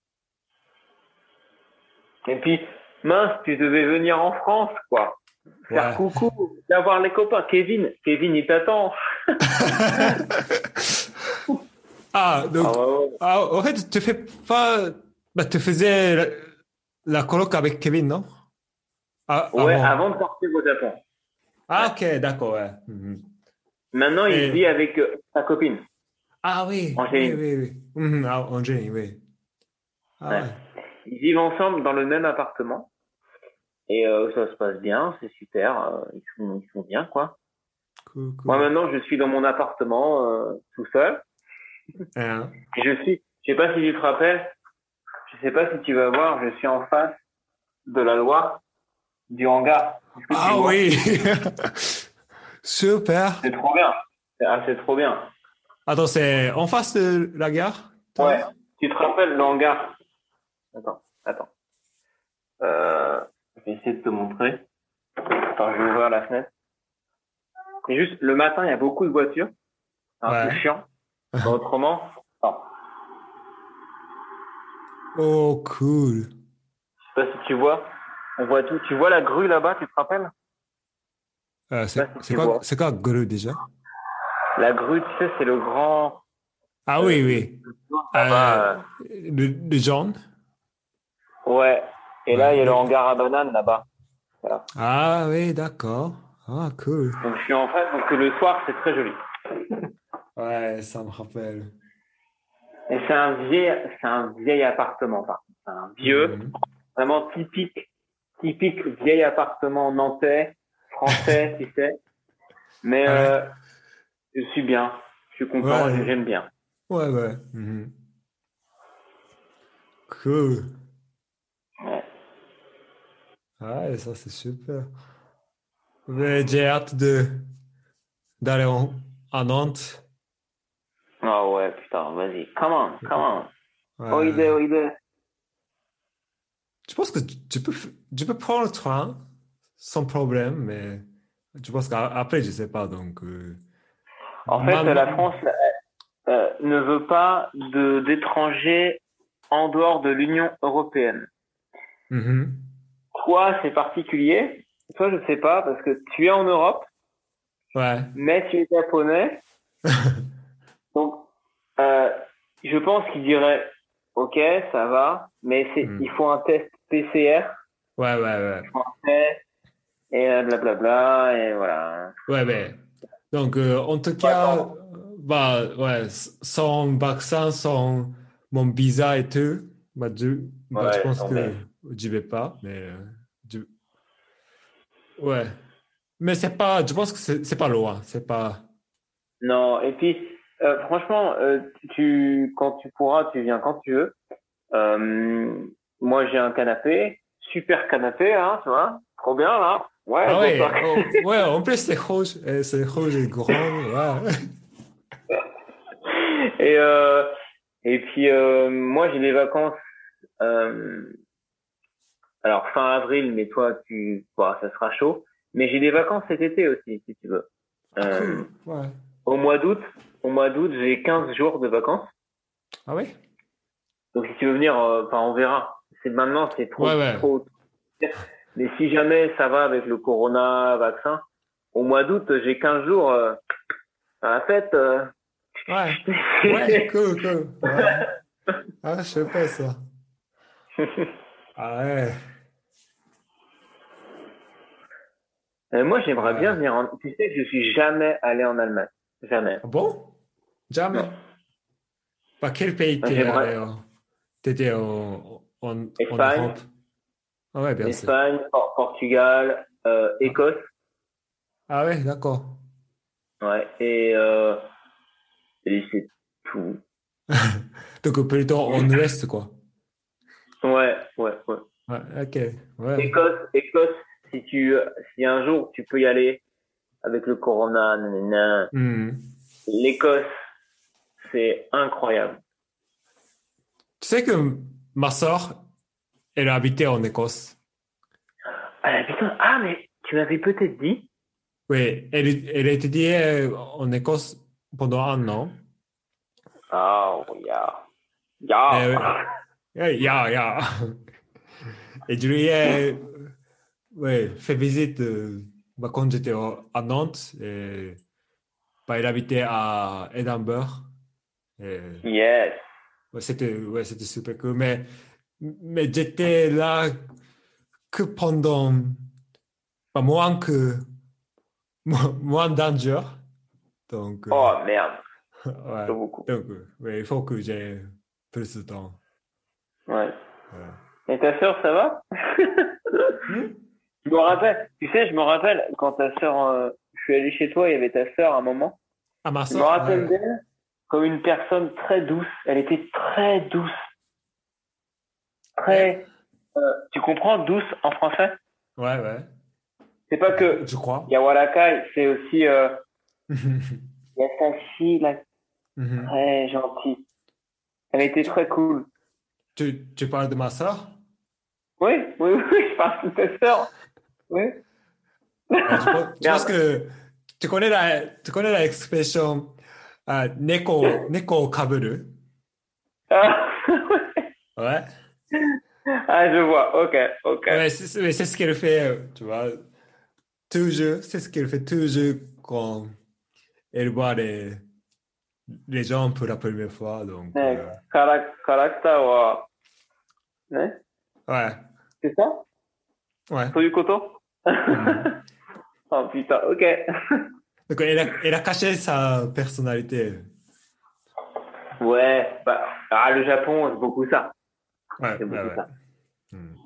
Et puis mince, tu devais venir en France quoi, faire Ouais. coucou, viens voir les copains. Kevin, Kevin il t'attend. Ah, Ah donc, ouais, ouais. ah, en fait, tu fais pas, bah, tu faisais la, la coloc avec Kevin, non? Ah, Ouais, avant. avant de partir au Japon. Ah, Ouais. ok, d'accord, ouais. Mhm. Maintenant il Et, vit avec euh, sa copine, ah oui, oui, Angéline. oui, oui. Mhm, ah, Angéline, oui. Ah Ouais. ouais, Ils vivent ensemble dans le même appartement et euh, ça se passe bien, c'est super, euh, ils sont ils sont bien quoi. cool, Moi cool. maintenant je suis dans mon appartement euh, tout seul. Hein? Et je suis, je sais pas si tu te rappelles, je sais pas si tu vas voir, je suis en face de la loi du hangar. Est-ce que tu Ah vois? oui, super. C'est trop bien. Ah, c'est trop bien. Attends, c'est en face de la gare, Ouais. toi? Tu te rappelles le hangar? Attends, attends. Euh, je vais essayer de te montrer. Attends, je vais ouvrir la fenêtre. C'est juste, le matin, il y a beaucoup de voitures. C'est un peu Ouais. chiant. Mais autrement, attends. Oh, cool. Je sais pas si tu vois. On voit tout. Tu vois la grue là-bas, tu te rappelles? Euh, Je sais c'est pas si c'est tu quoi, vois. c'est quoi Gru déjà? La grue, tu sais, c'est le grand, Ah euh, oui, le, oui. le jaune Euh, là-bas. le, le jaune? euh. Ouais. Et là, Ouais. il y a le Le- hangar à bananes là-bas. Voilà. Ah oui, d'accord. Ah, cool. Donc je suis en face, donc le soir, c'est très joli. Ouais, ça me rappelle. Et c'est un vieil, c'est un vieil appartement, par contre. C'est un vieux, Mhm. vraiment typique, typique vieil appartement nantais, français, tu sais. Mais Ouais, euh, je suis bien, je suis content, ouais, j'aime bien. ouais, ouais. Mhm. Cool. Ouais. Ouais, ça c'est super. Mais j'ai hâte de d'aller en- à Nantes. Ah ouais, putain, vas-y, come on, come on. Oide, Ouais. oide. Je pense que tu tu peux, f- tu peux prendre le train sans problème, mais je pense qu'après, je sais pas. Donc, euh, En fait, man- la France euh, ne veut pas de d'étrangers en dehors de l'Union européenne. Mhm. Toi, c'est particulier. Toi, je sais pas, parce que tu es en Europe, Ouais. mais tu es japonais. Donc, euh, je pense qu'il dirait, OK, ça va, mais c'est, il Hmm. faut un test P C R, Ouais, ouais, ouais. il faut un test, et euh, blablabla, et voilà. Ouais, mais donc, euh, en tout Faut cas, attendre. euh, bah, ouais, s- sans vaccin, sans mon visa et tout, bah, je, bah, je Ouais, pense attendez. que j'y vais pas, mais euh, je- ouais. Mais c'est pas, je pense que c'est c'est pas loin, c'est pas. Non, et puis, euh, franchement, euh, tu, quand tu pourras, tu viens quand tu veux. Euh, moi, j'ai un canapé, super canapé, hein, tu vois, trop bien là. Ouais, Ah bon ça. ouais, oh, ouais, en plus c'est rouge, et c'est rouge et grand, ouais. Et euh, et puis euh, moi, j'ai des vacances. Euh, alors fin avril, mais toi, tu, bah, ça sera chaud. Mais j'ai des vacances cet été aussi, si tu veux. Ah Euh, cool, ouais. au mois d'août, au mois d'août, j'ai quinze jours de vacances. Ah ouais? Donc si tu veux venir, euh, enfin on verra. C'est maintenant, c'est Ouais, trop, ouais. trop. Mais si jamais ça va avec le corona vaccin, au mois d'août, j'ai quinze jours euh, à la fête. Euh... Ouais, ouais, cool, cool. Ouais. Ah, je sais pas ça. Ah ouais. Et moi, j'aimerais Ouais. bien venir en... Tu sais que je suis jamais allé en Allemagne. Jamais. Ah bon? Jamais. Non. Par quel pays t'es J'aimerais allé? en- T'étais en, en, en Espagne, Europe? Ah ouais, bien sûr. Espagne, Por- Portugal, euh, Ah, Écosse. ah ouais, d'accord. Ouais. Et, euh, et c'est tout. Donc plutôt en ouest, quoi. Ouais, ouais, ouais. Ouais, ok, ouais. Écosse, Écosse, si tu, si un jour tu peux y aller avec le corona, nanana, Hmm. l'Écosse, c'est incroyable. Tu sais que ma soeur, elle a habité en Écosse. Ah putain, ah mais tu m'avais peut-être dit. Oui, elle, elle a étudié en Écosse pendant un an. Oh, yeah. Et, Yeah. ouais, ya, ya. Et je lui ai ouais, fait visite euh, bah, quand j'étais au- à Nantes. Et, bah, elle habitait à Édimbourg. Et, Yes. ouais, c'était ouais, c'était super cool. Mais, mais j'étais là que pendant bah, moins que moins, moins d'un jour. Donc, euh, Oh merde, ouais. pas beaucoup. Donc, euh, ouais, il faut que j'ai plus de temps. Ouais. Ouais. Et ta sœur, ça va? Hmm? Je me rappelle, tu sais, je me rappelle quand ta sœur, euh, je suis allé chez toi, il y avait ta sœur à un moment. À ma Je me soeur? Ouais, rappelle ouais. d'elle comme une personne très douce. Elle était très douce, Eh? très. euh, tu comprends douce en français? Ouais, ouais. C'est pas Je, que je crois. Yawarakai, c'est aussi euh, Mhm. Yasashi, là, Mhm. très gentille. Elle était Tu, très cool. tu, tu parles de ma soeur? Oui, oui, oui, je parle de ta sœur. Oui. Ouais, je pense, je pense Merde. que tu connais la, tu connais la expression euh, neko, neko kaburu? Ah, Ouais. ah, je vois. Ok, ok. Ouais, c'est c'est- c'est ce qu'elle fait, euh, tu vois. Toujours, c'est ce qu'elle fait toujours quand elle voit les, les gens pour la première fois. Donc, ね、 euh, カラ、カラクターは、ね、 ouais, c'est ça? ouais. そういうこと Mhm. Oh putain, ok. Donc, elle a, elle a caché sa personnalité. Ouais, bah, ah, le Japon, c'est beaucoup ça. Ouais, C'est ouais, beaucoup ouais. ça. Mhm.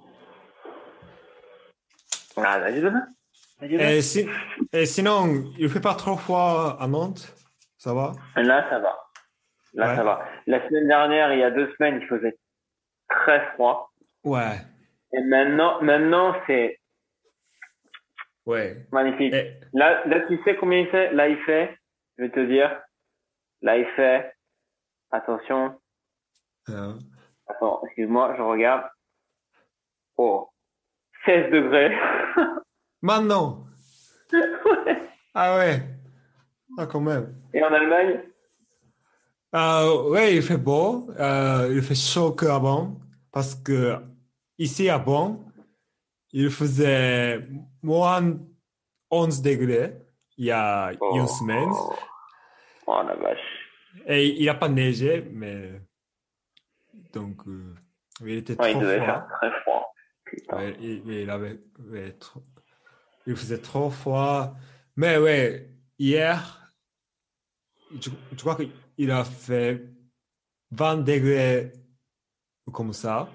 Ah, 大丈夫だ大丈夫 Et, si, et sinon, il fait pas trop froid à Nantes? Ça va? Là, ça va. Là, Ouais. ça va. La semaine dernière, il y a deux semaines, il faisait très froid. Ouais, Et maintenant, maintenant, c'est ouais. magnifique. Et, Là, là, tu sais combien il fait? Là, il fait, je vais te dire, là, il fait, attention, euh, attends, excuse-moi, je regarde. Oh, seize degrés. maintenant, Ouais. ah ouais, ah quand même. Et en Allemagne? Euh, ouais, il fait beau, euh, il fait chaud qu'avant, parce que ici avant, il faisait moins onze degrés il y a une Oh, semaine, oh la vache. et il n'a pas neigé, mais donc euh, il était Ouais, il trop devait faire froid. très froid. Putain. Ouais, il, il avait, ouais, trop- il faisait trop froid. Mais ouais, hier, je, je crois qu'il a fait vingt degrés comme ça.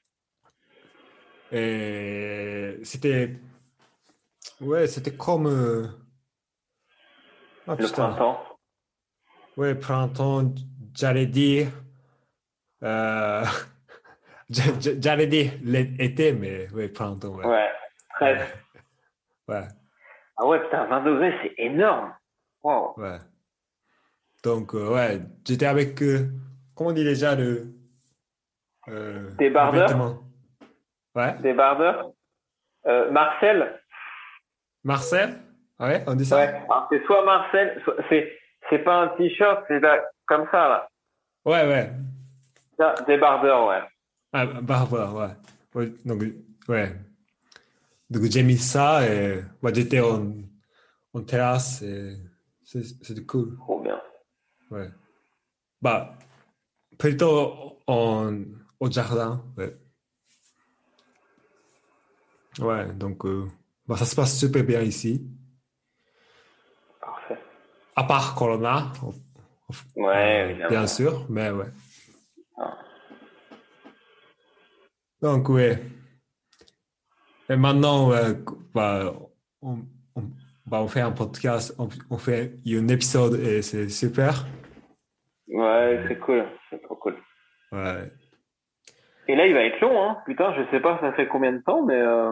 Et c'était, ouais, c'était comme, euh, ah Le putain, printemps. ouais, printemps, j'allais dire, euh, j'a- j'a- j'allais dire l'été, mais ouais, printemps, ouais. Ouais, Ouais, presque. ouais, Ah ouais, putain, vingt degrés, c'est énorme. Wow. ouais. Donc, euh, ouais, j'étais avec, euh, comment on dit déjà le, euh, Des le bardeurs? vêtement? Ouais. Des bardeurs? Euh, Marcel? Marcel? Ouais, on dit Ouais. ça? Alors, c'est soit Marcel, soit, c'est, c'est pas un t-shirt, c'est là, comme ça, là. Ouais, ouais. Ça, des barbeurs, ouais. Ah, Barbara, ouais. Ouais, donc, ouais. Donc j'ai mis ça et bah, j'étais en, en terrasse et c'est, c'était cool. Trop bien. Ouais. Bah, plutôt en, au jardin. Ouais. Ouais, donc euh, bah, ça se passe super bien ici. Parfait. À part Corona, Ouais, euh, évidemment. bien sûr, mais ouais. Ah. Donc, ouais. Et maintenant, ouais, bah, on, on, bah, on fait un podcast, on, on fait un épisode et c'est super. Ouais, c'est cool. C'est trop cool. Ouais. Et là, il va être long, hein. Putain, je sais pas ça fait combien de temps, mais euh,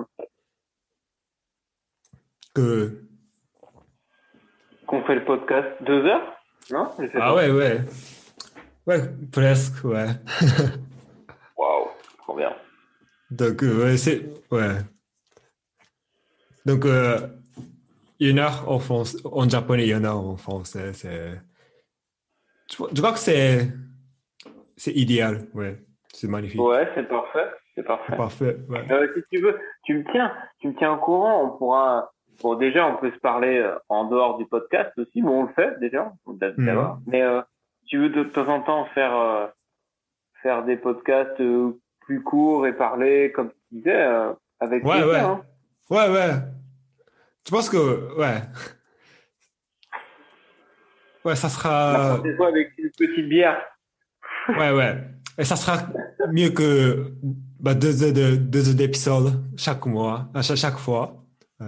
Que... qu'on fait le podcast. Deux heures? Non, je sais Ah pas. ouais, ouais. Ouais, presque, ouais. Waouh, trop bien. Donc, euh, ouais, c'est... Ouais. Donc, euh, une heure en, France, en japonais, une heure en français, c'est... Je, je crois que c'est... C'est idéal, ouais. C'est magnifique. Ouais, c'est parfait. C'est C'est parfait. parfait, ouais. Euh, si tu veux, tu me tiens, tu me tiens au courant. On pourra. Bon, déjà, on peut se parler euh, en dehors du podcast aussi. Bon, on le fait déjà, d'abord. Mhm. Mais euh, tu veux de temps en temps faire euh, faire des podcasts euh, plus courts et parler, comme tu disais, euh, avec Ouais, plaisir. ouais. Hein. Ouais, ouais. Je pense que, ouais. Ouais, ça La sera... prochaine fois avec une petite bière. Ouais, ouais. Et ça sera mieux que bah, deux heures de, deux heures d'épisode chaque mois, à chaque, chaque fois. Ouais.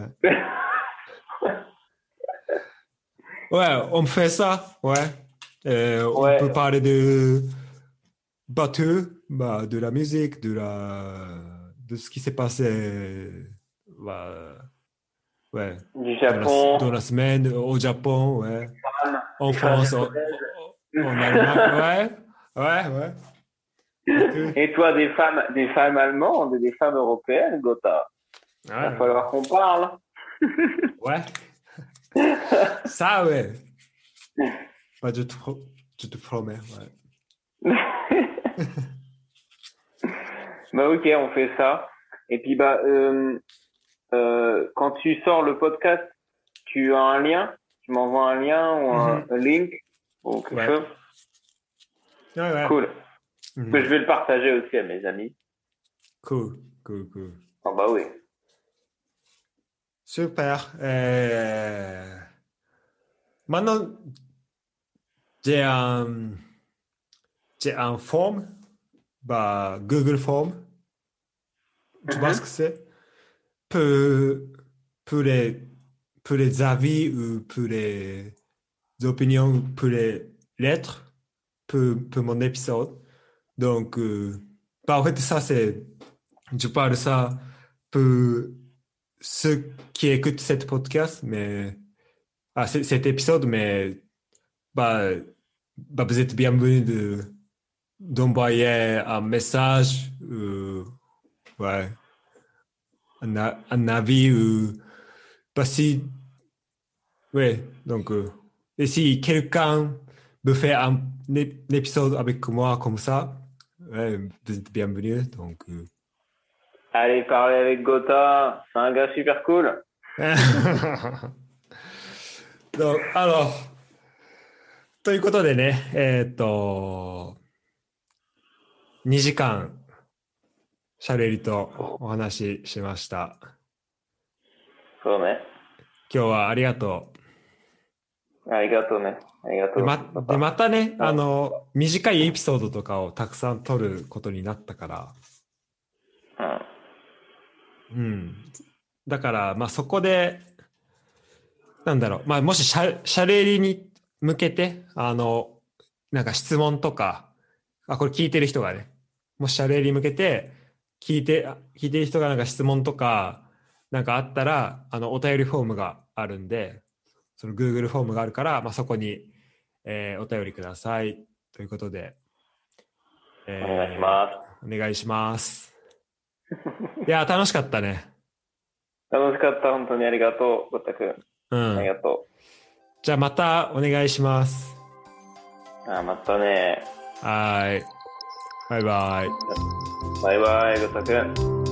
Ouais, on fait ça, ouais. Euh, on peut Ouais, parler de bateau, bah, de la musique, de la, de ce qui s'est passé, bah, ouais, du dans la, Japon, dans la semaine au Japon, ouais. femmes, En des femmes France, en, japonaises. en Allemagne, ouais, ouais, ouais. Et tout. Et toi, des femmes, des femmes allemandes et des femmes européennes, Gotha. Il va Ouais, falloir qu'on parle. ouais. Ça, ouais. Bah, je te, pro- je te promets, ouais. Bah ok, on fait ça. Et puis bah euh, euh, quand tu sors le podcast, tu as un lien, tu m'envoies un lien ou un, Mhm. un link ou quelque Ouais, chose. ouais, ouais. Cool. Que je Mhm. vais le partager aussi à mes amis. Cool, cool, cool. Ah bah oui. Super. Euh, Maintenant, j'ai un, j'ai un form, bah, Google Form. Tu vois ce que Mhm. c'est? Pour, pour les, pour les avis ou pour les opinions, pour les lettres, pour, pour mon épisode. Donc, euh, bah, en fait, ça, c'est, je parle de ça pour ceux qui écoutent cette podcast, mais, ah, c- cet épisode, mais, bah, bah, vous êtes bienvenus de, d'envoyer un message, euh, ouais, un, a- un avis, ou, bah, si, ouais, donc, euh, et si quelqu'un veut faire un, ép- un épisode avec moi comme ça, ouais, vous êtes bienvenus, donc, euh, Allez parler avec Gotha, c'est un gars super cool. donc, alors, ということでね、えーっと、にじかん、シャレリとお話ししました。 そうね。 今日はありがとありがとうね。ありがう。で、 とう。 ま、で、またね、 うんあの、短いエピソードとかをたくさん撮ることになったから、 うん。 うん。だから、まあそこで、なんだろう、まあもしシャ、シャレリに向けて、あの、なんか質問とか、あ、これ聞いてる人がね、もしシャレリに向けて、聞いて、聞いてる人がなんか質問とか、なんかあったら、あの、お便りフォームがあるんで、その Google フォームがあるから、まあそこに、えーお便りください。ということで、えお願いします。 お願いします。いや、楽しかったね。 楽しかった。本当にありがとう、ゴッタ君。 うんありがとじゃあまたお願いします。 う。あ、またね。 はい。バイバイ。 バイバイ、ゴッタ君。